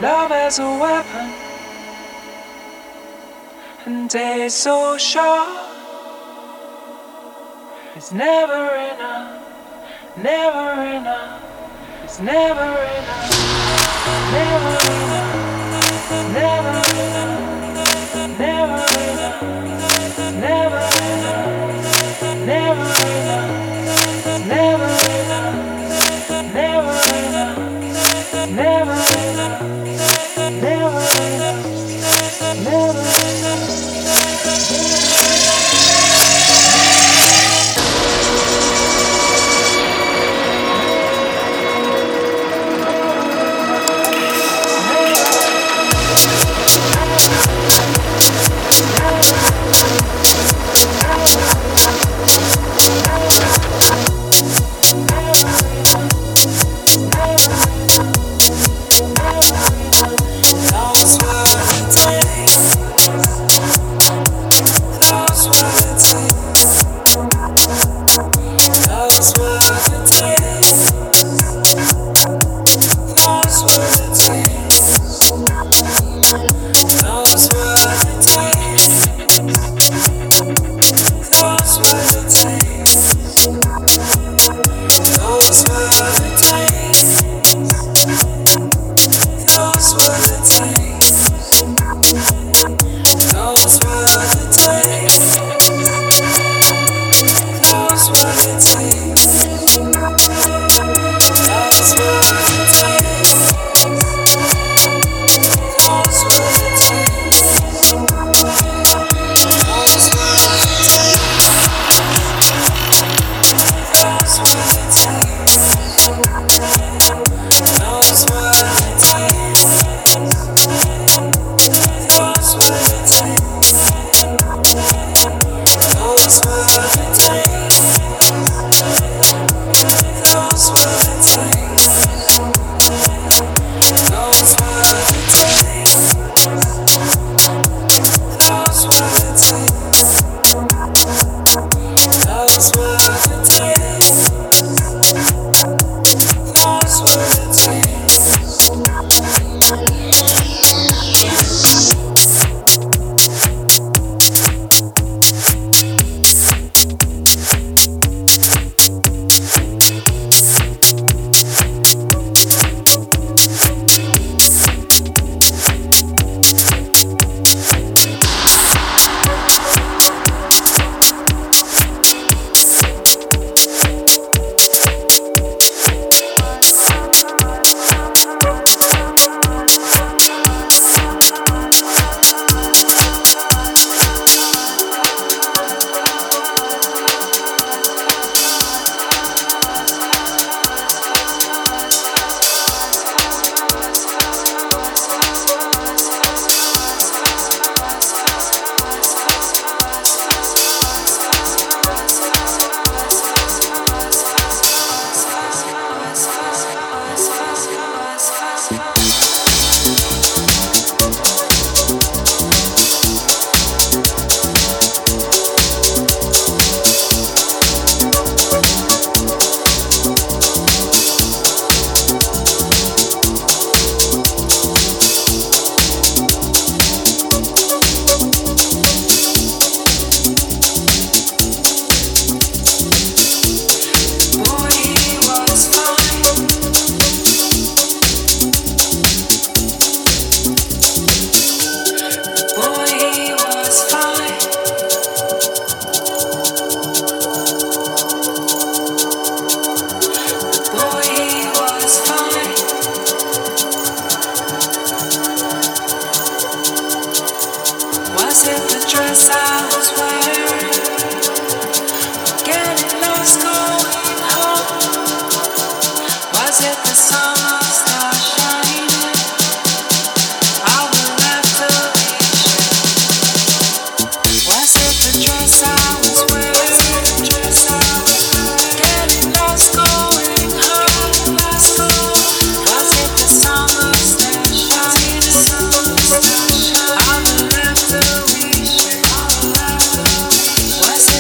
Love as a weapon, and days so short. It's never enough, never enough. It's never enough, never enough, never enough, never enough, never enough, never enough, never enough, never enough, never enough, never enough, never enough.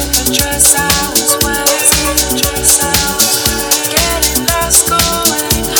Dress I was wearing, dress I was wearing, getting lost going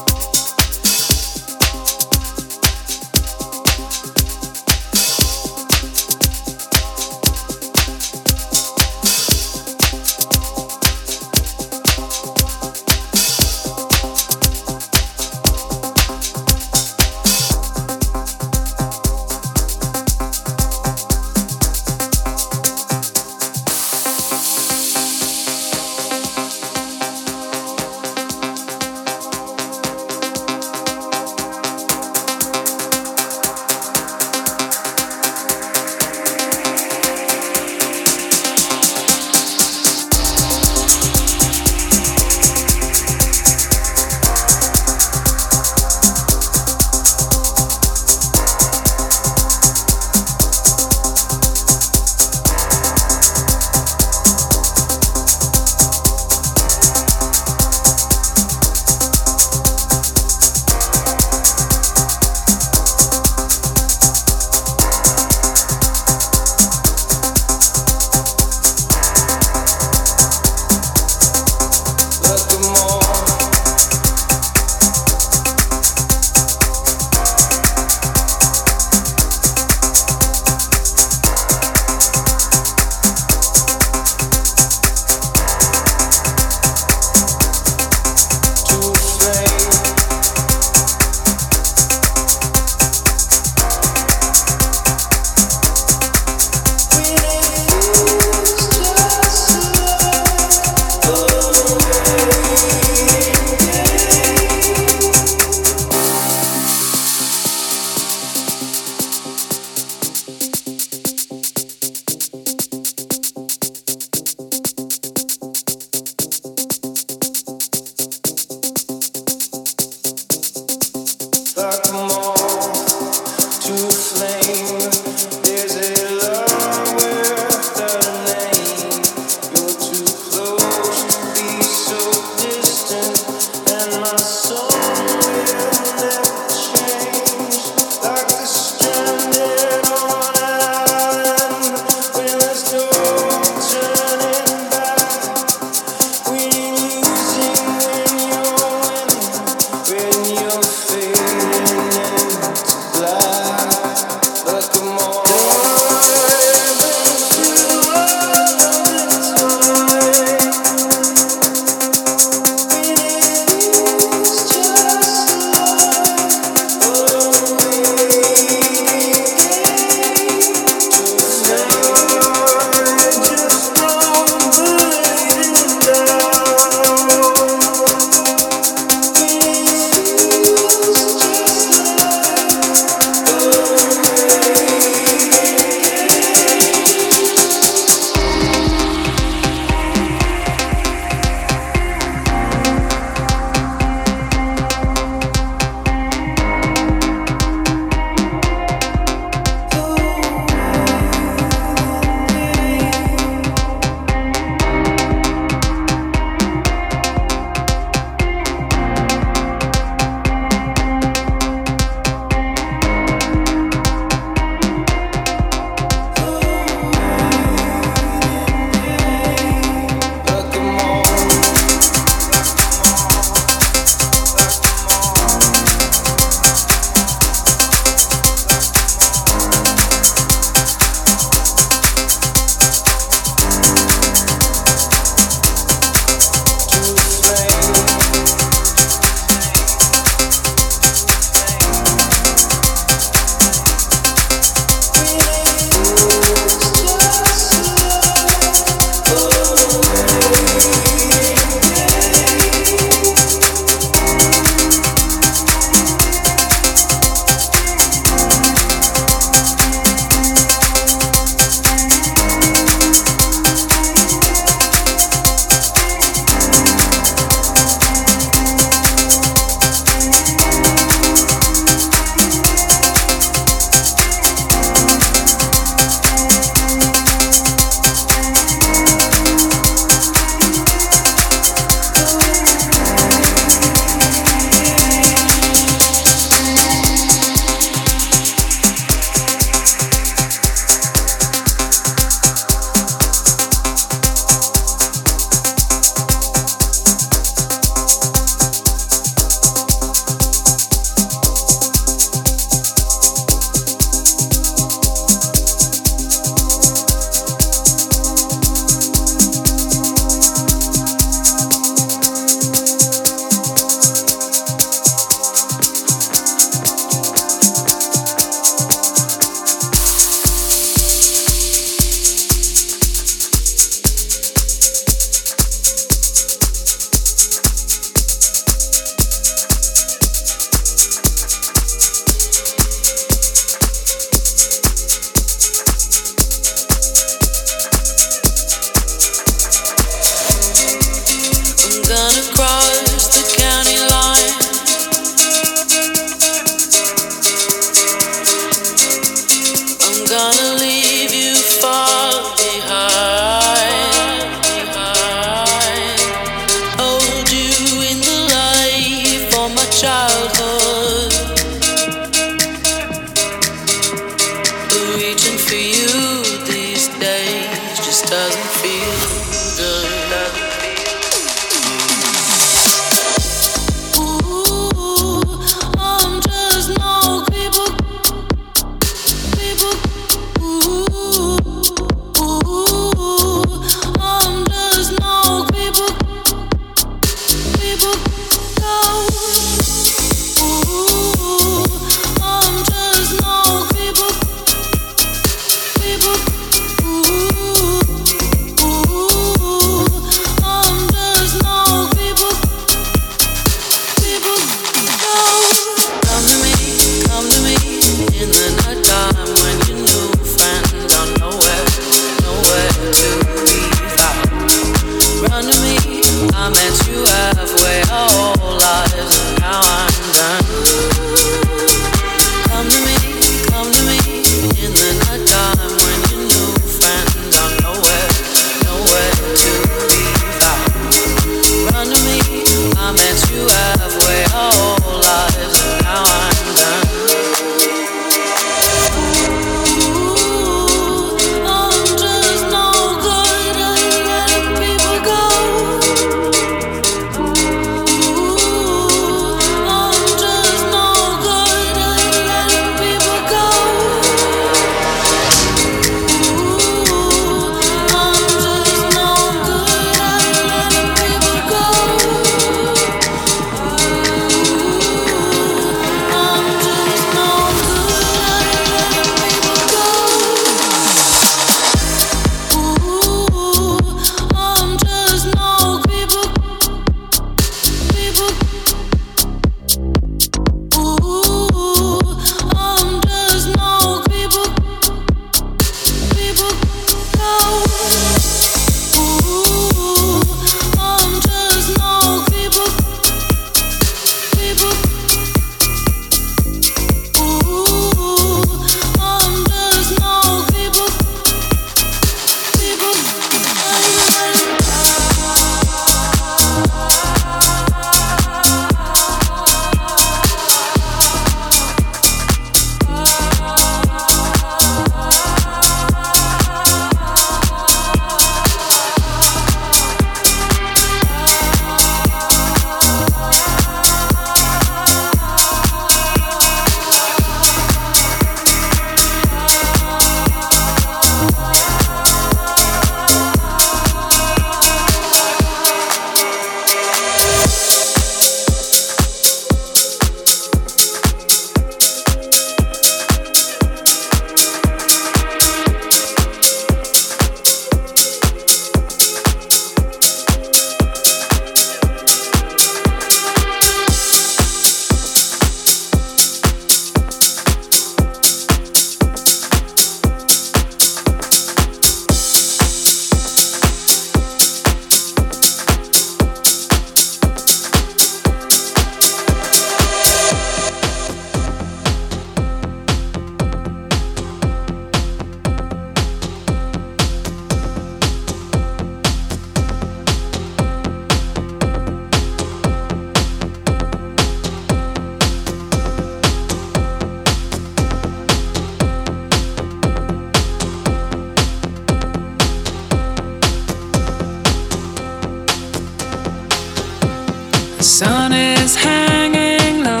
sun is hanging low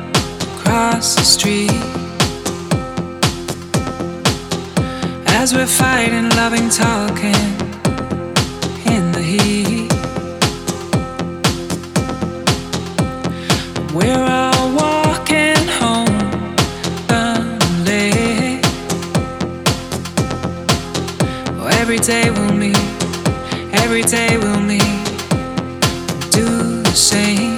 across the street as we're fighting, loving, talking in the heat. We're all walking home lonely. Oh, every day we'll meet, every day we'll meet. Do the same.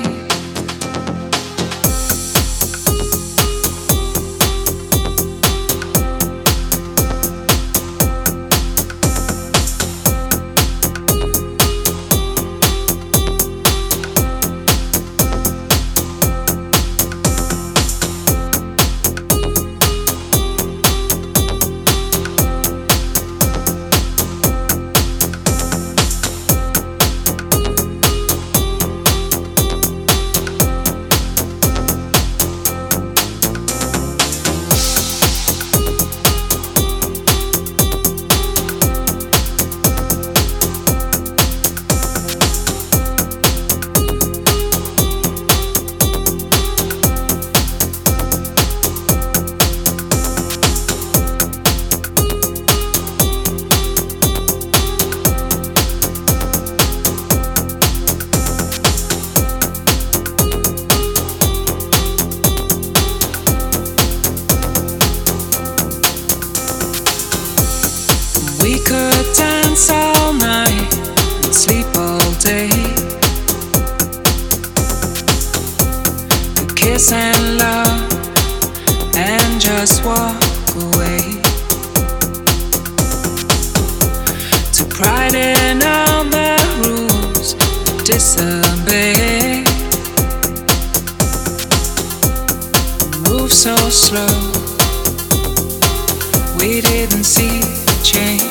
We could dance all night and sleep all day. Could kiss and love and just walk away. To pride in all the rules disobey. Move so slow, we didn't see the change.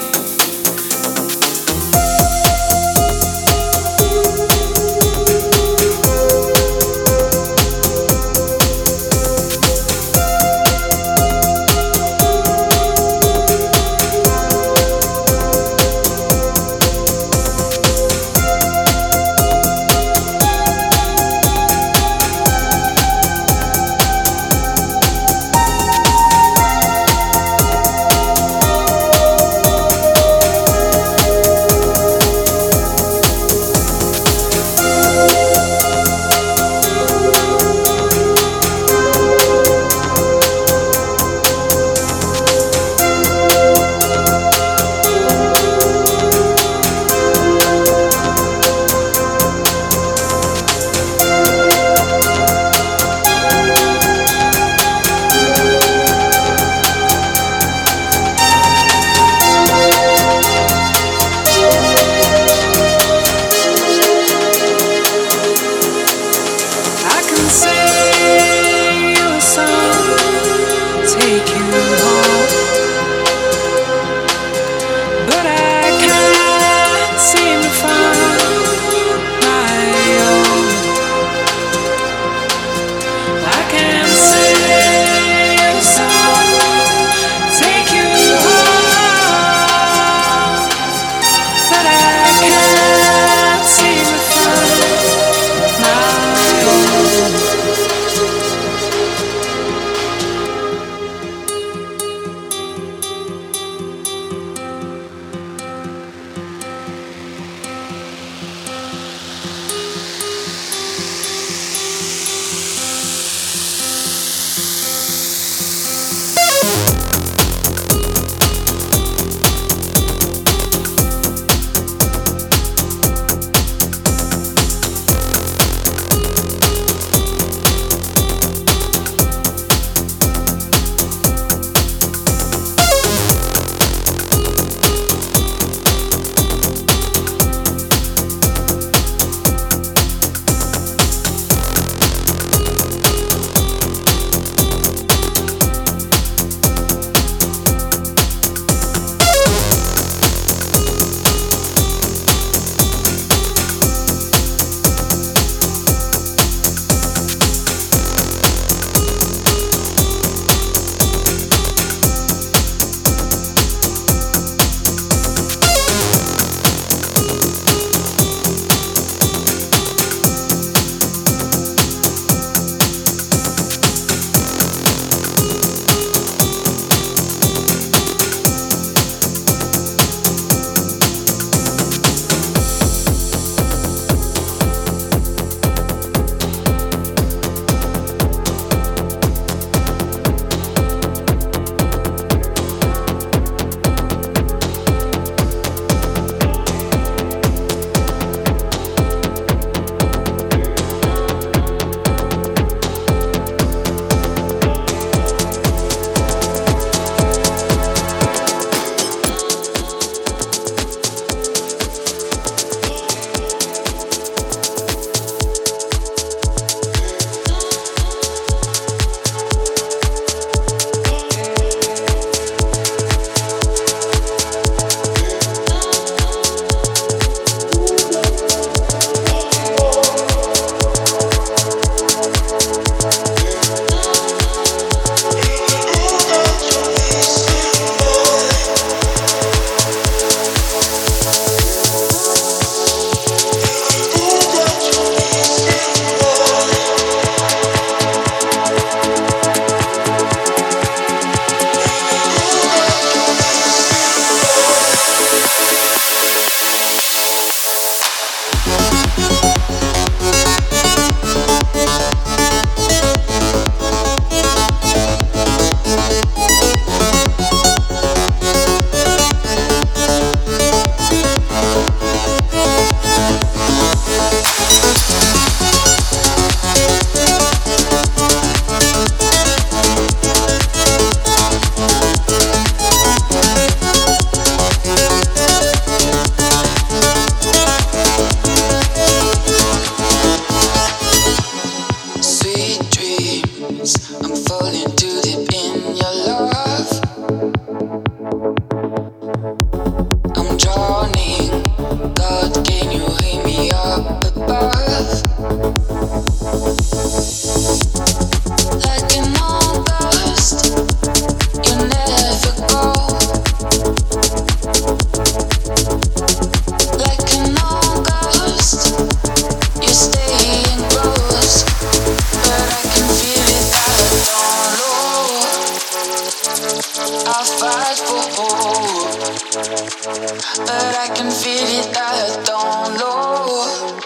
that I don't know.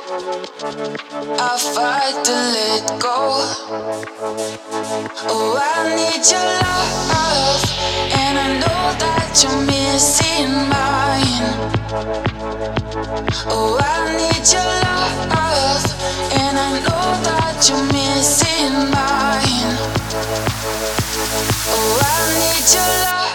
I fight to let go. Oh, I need your love, and I know that you're missing mine. Oh, I need your love, and I know that you're missing mine. Oh, I need your love.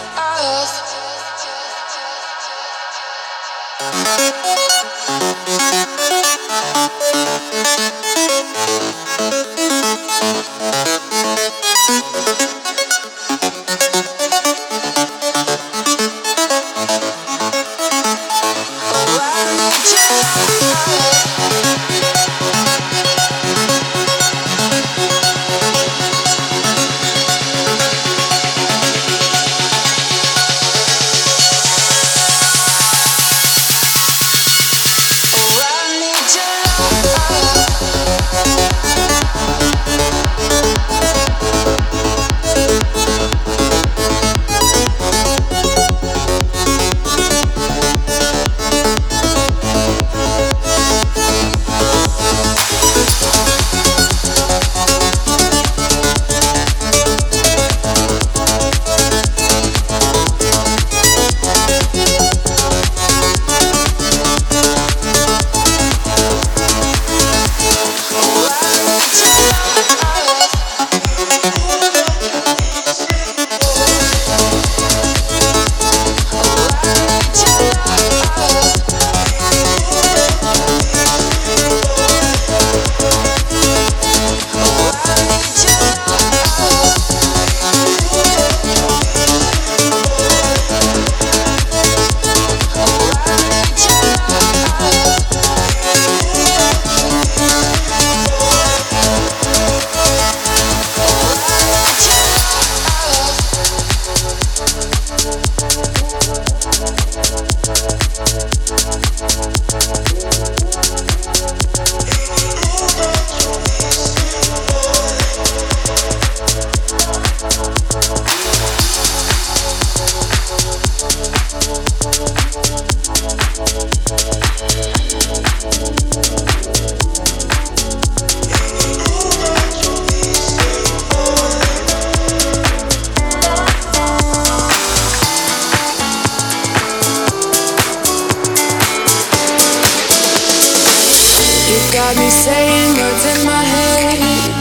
Got me saying words in my head,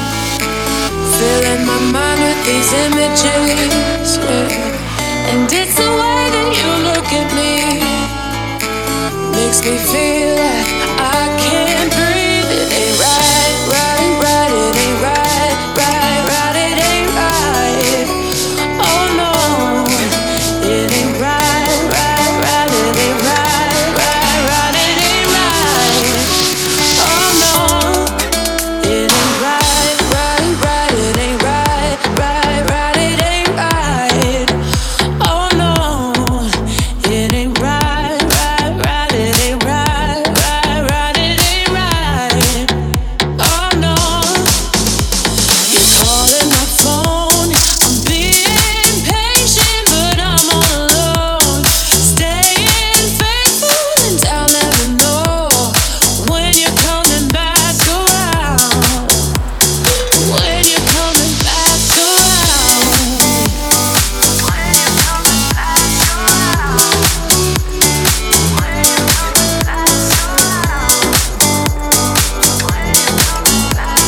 filling my mind with these images, yeah. And it's the way that you look at me, makes me feel like I can't breathe. It ain't right, right, right, it ain't right, right, right, it ain't right. Oh no, it ain't right, right, right, it ain't right, right, right, it ain't right. Oh no, it ain't right, right, right, it ain't right, right, right, it ain't right. Oh no, it ain't right, right, right, it ain't right, right, right, it ain't right. Oh no, you're calling my phone, I'm being patient, but I'm all alone. Staying faithful and I'll never know when you're coming back around. When you're coming back around. When you're coming back around. When you're coming back around. When you're coming back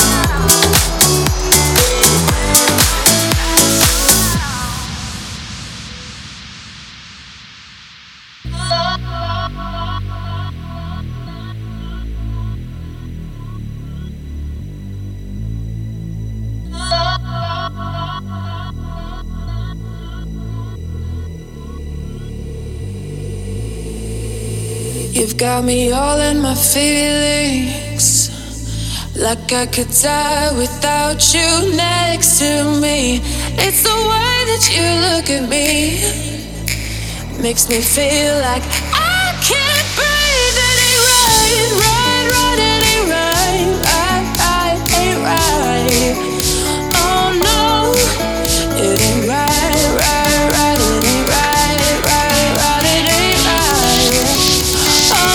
You've got me all in my feelings, like I could die without you next to me. It's the way that you look at me, makes me feel like I can't breathe. It ain't right, right, right, it ain't right, right, right, ain't right. Oh no, it ain't right, right, right, it ain't right, right, right, it ain't right. Oh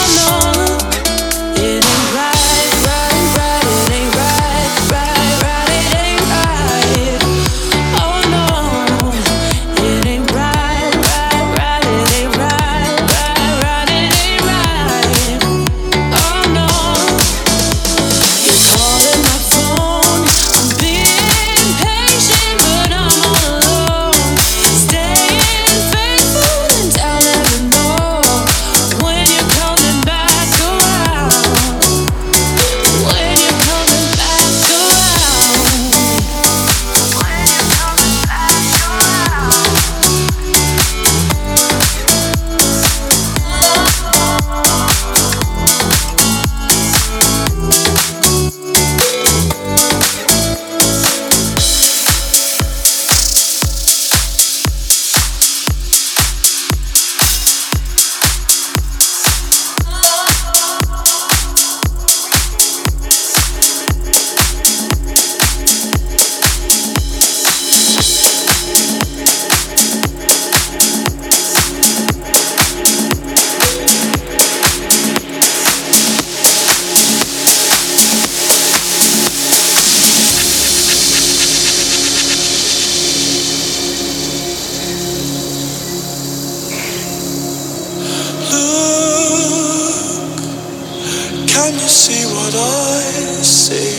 Can you see what I see?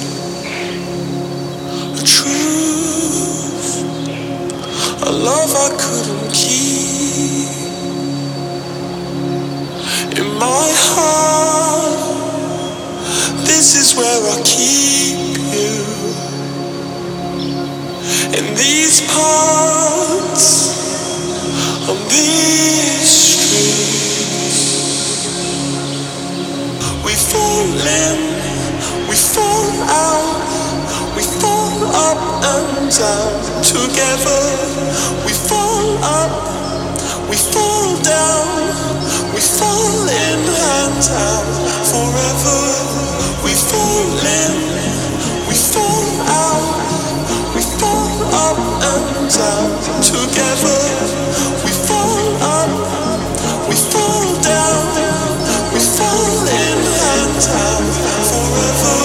A truth, a love I couldn't keep. In my heart, this is where I keep you. In these parts, on these streets, we fall in, we fall out, we fall up and down together. We fall up, we fall down, we fall in and out forever. We fall in, we fall out, we fall up and down together. We fall up, we fall down, we fall in and out forever.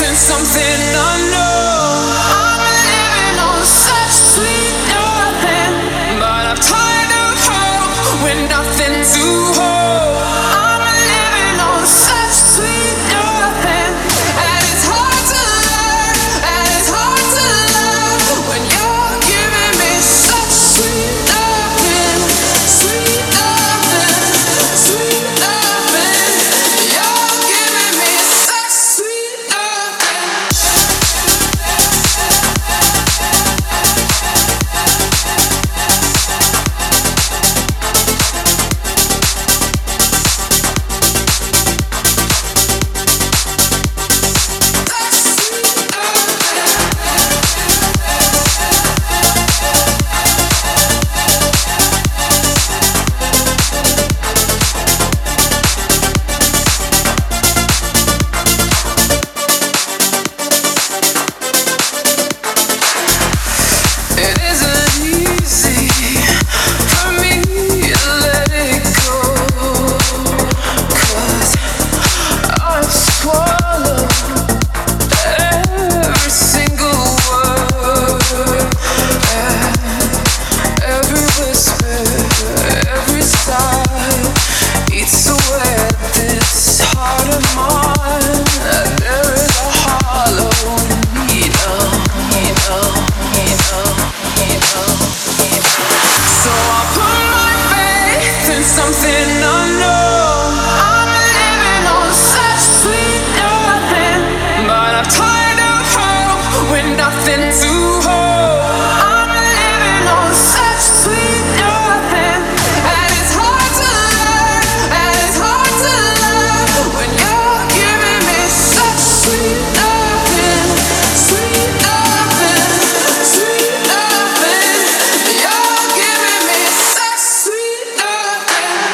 Something unknown. I'm living on such sweet nothing. So I put my faith in something unknown. I'm living on such sweet nothing, but I'm tired of hope with nothing to hold. I'm living on such sweet nothing, and it's hard to learn, and it's hard to love when you're giving me such sweet nothing, sweet nothing, sweet nothing. You're giving me such sweet nothing.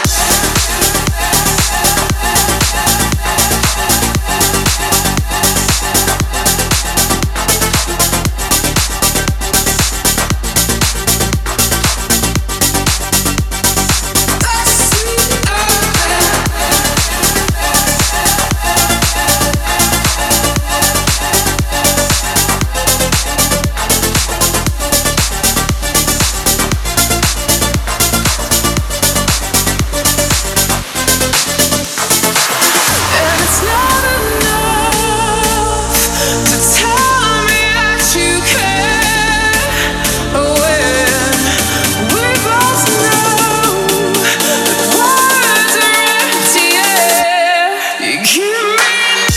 And it's not enough to tell me that you care when we both know that words are empty air. You give me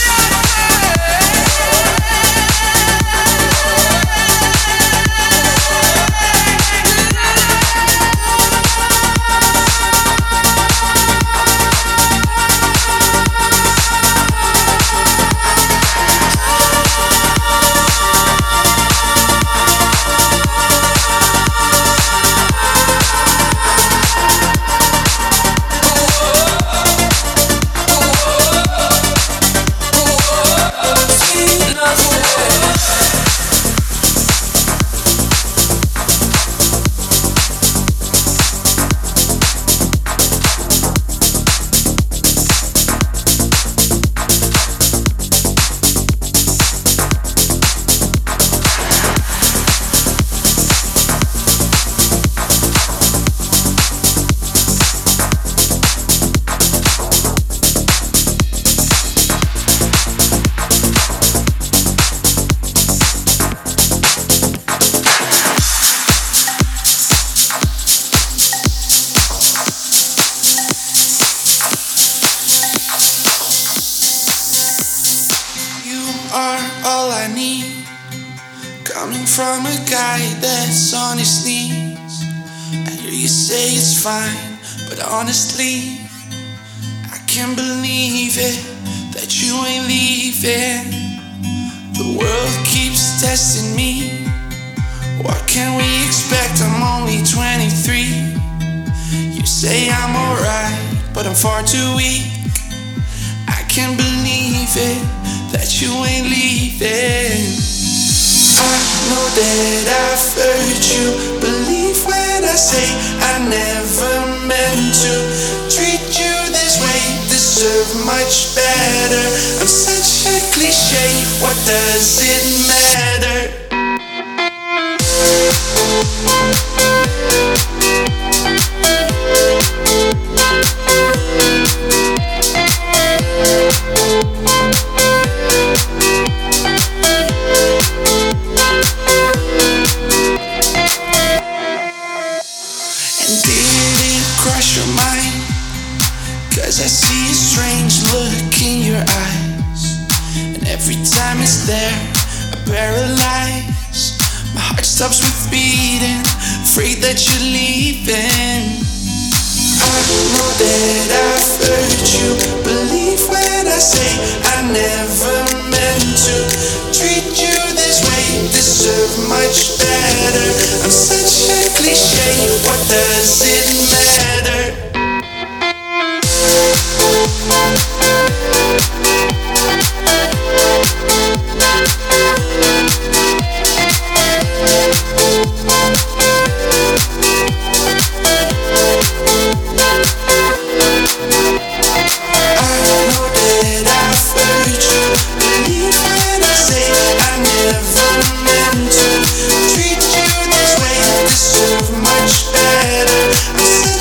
you are all I need, coming from a guy that's on his knees. I hear you say it's fine, but honestly, I can't believe it that you ain't leaving. The world keeps testing me. What can we expect? I'm only twenty-three. You say I'm alright, but I'm far too weak. I can't believe it that you ain't leaving. I know that I've hurt you. Believe when I say I never meant to treat you this way. Deserve much better. I'm such a cliche. What does it matter? And did it cross your mind? Cause I see a strange look in your eyes, and every time it's there, I paralyze. My heart stops with beating, afraid that you're leaving. I know that I've hurt you. Believe when I say I never meant to treat you this way. Deserve much better. I'm such a cliche. What does it matter? Treat you this way, deserve much better. I'm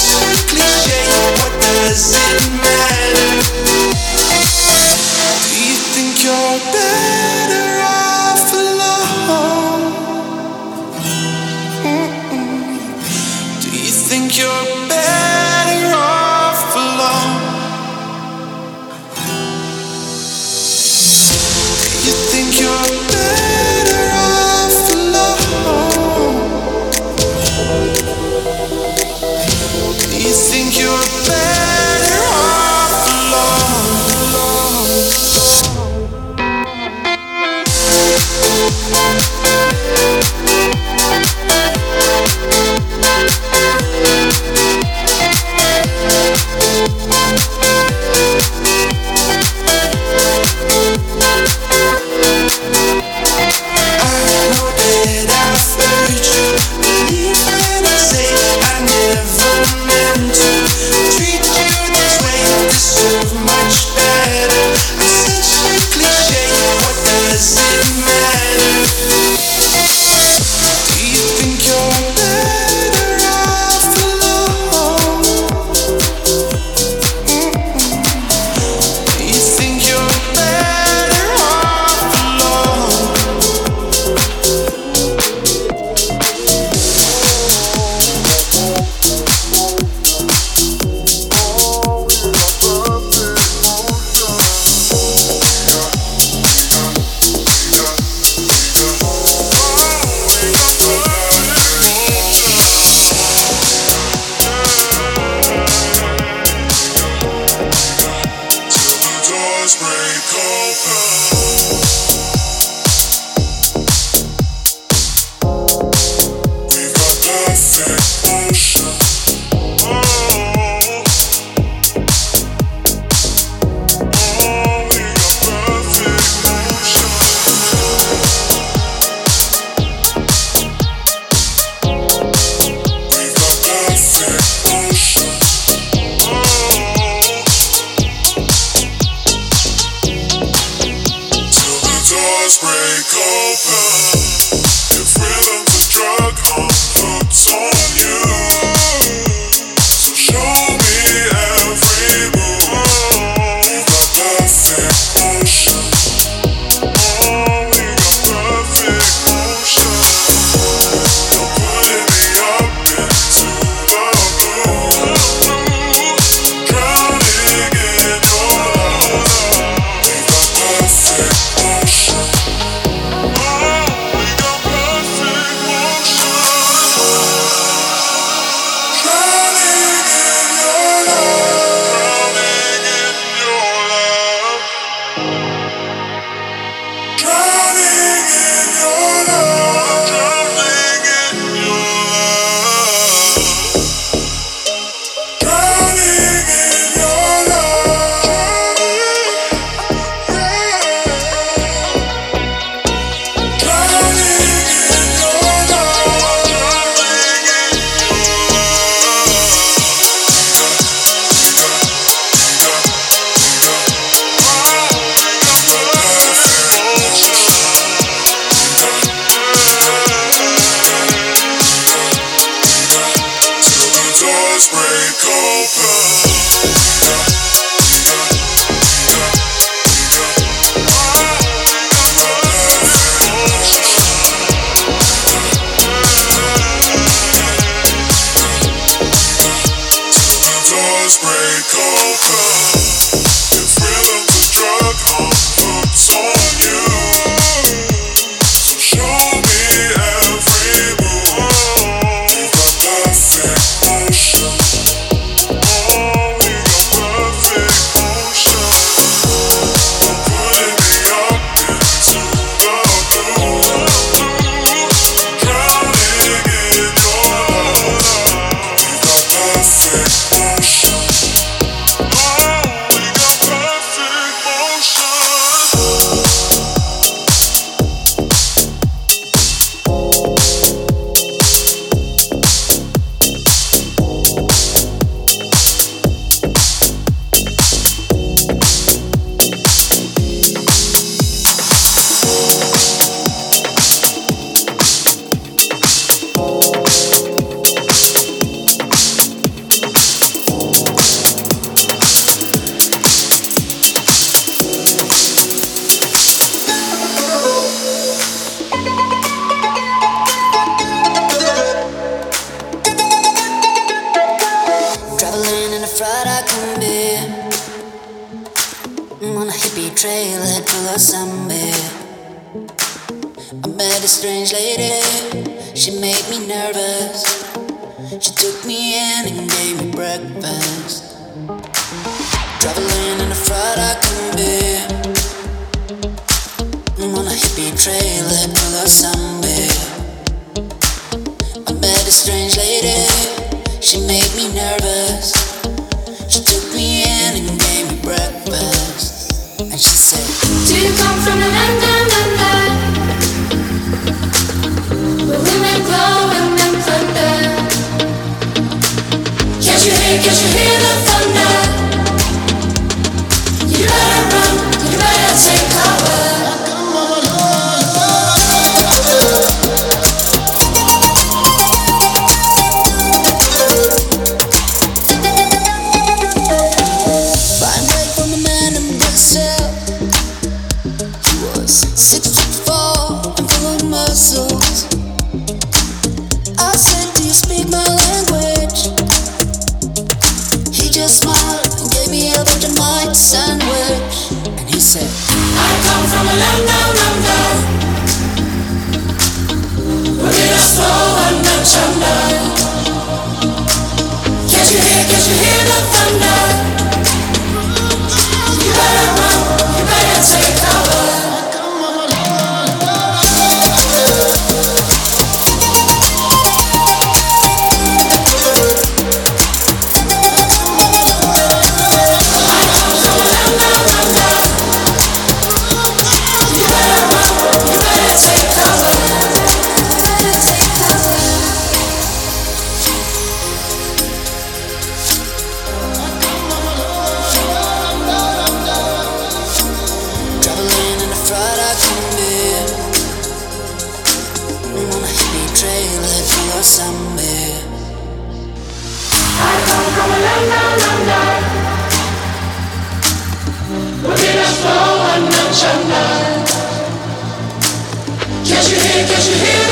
Can't you hear, can't you hear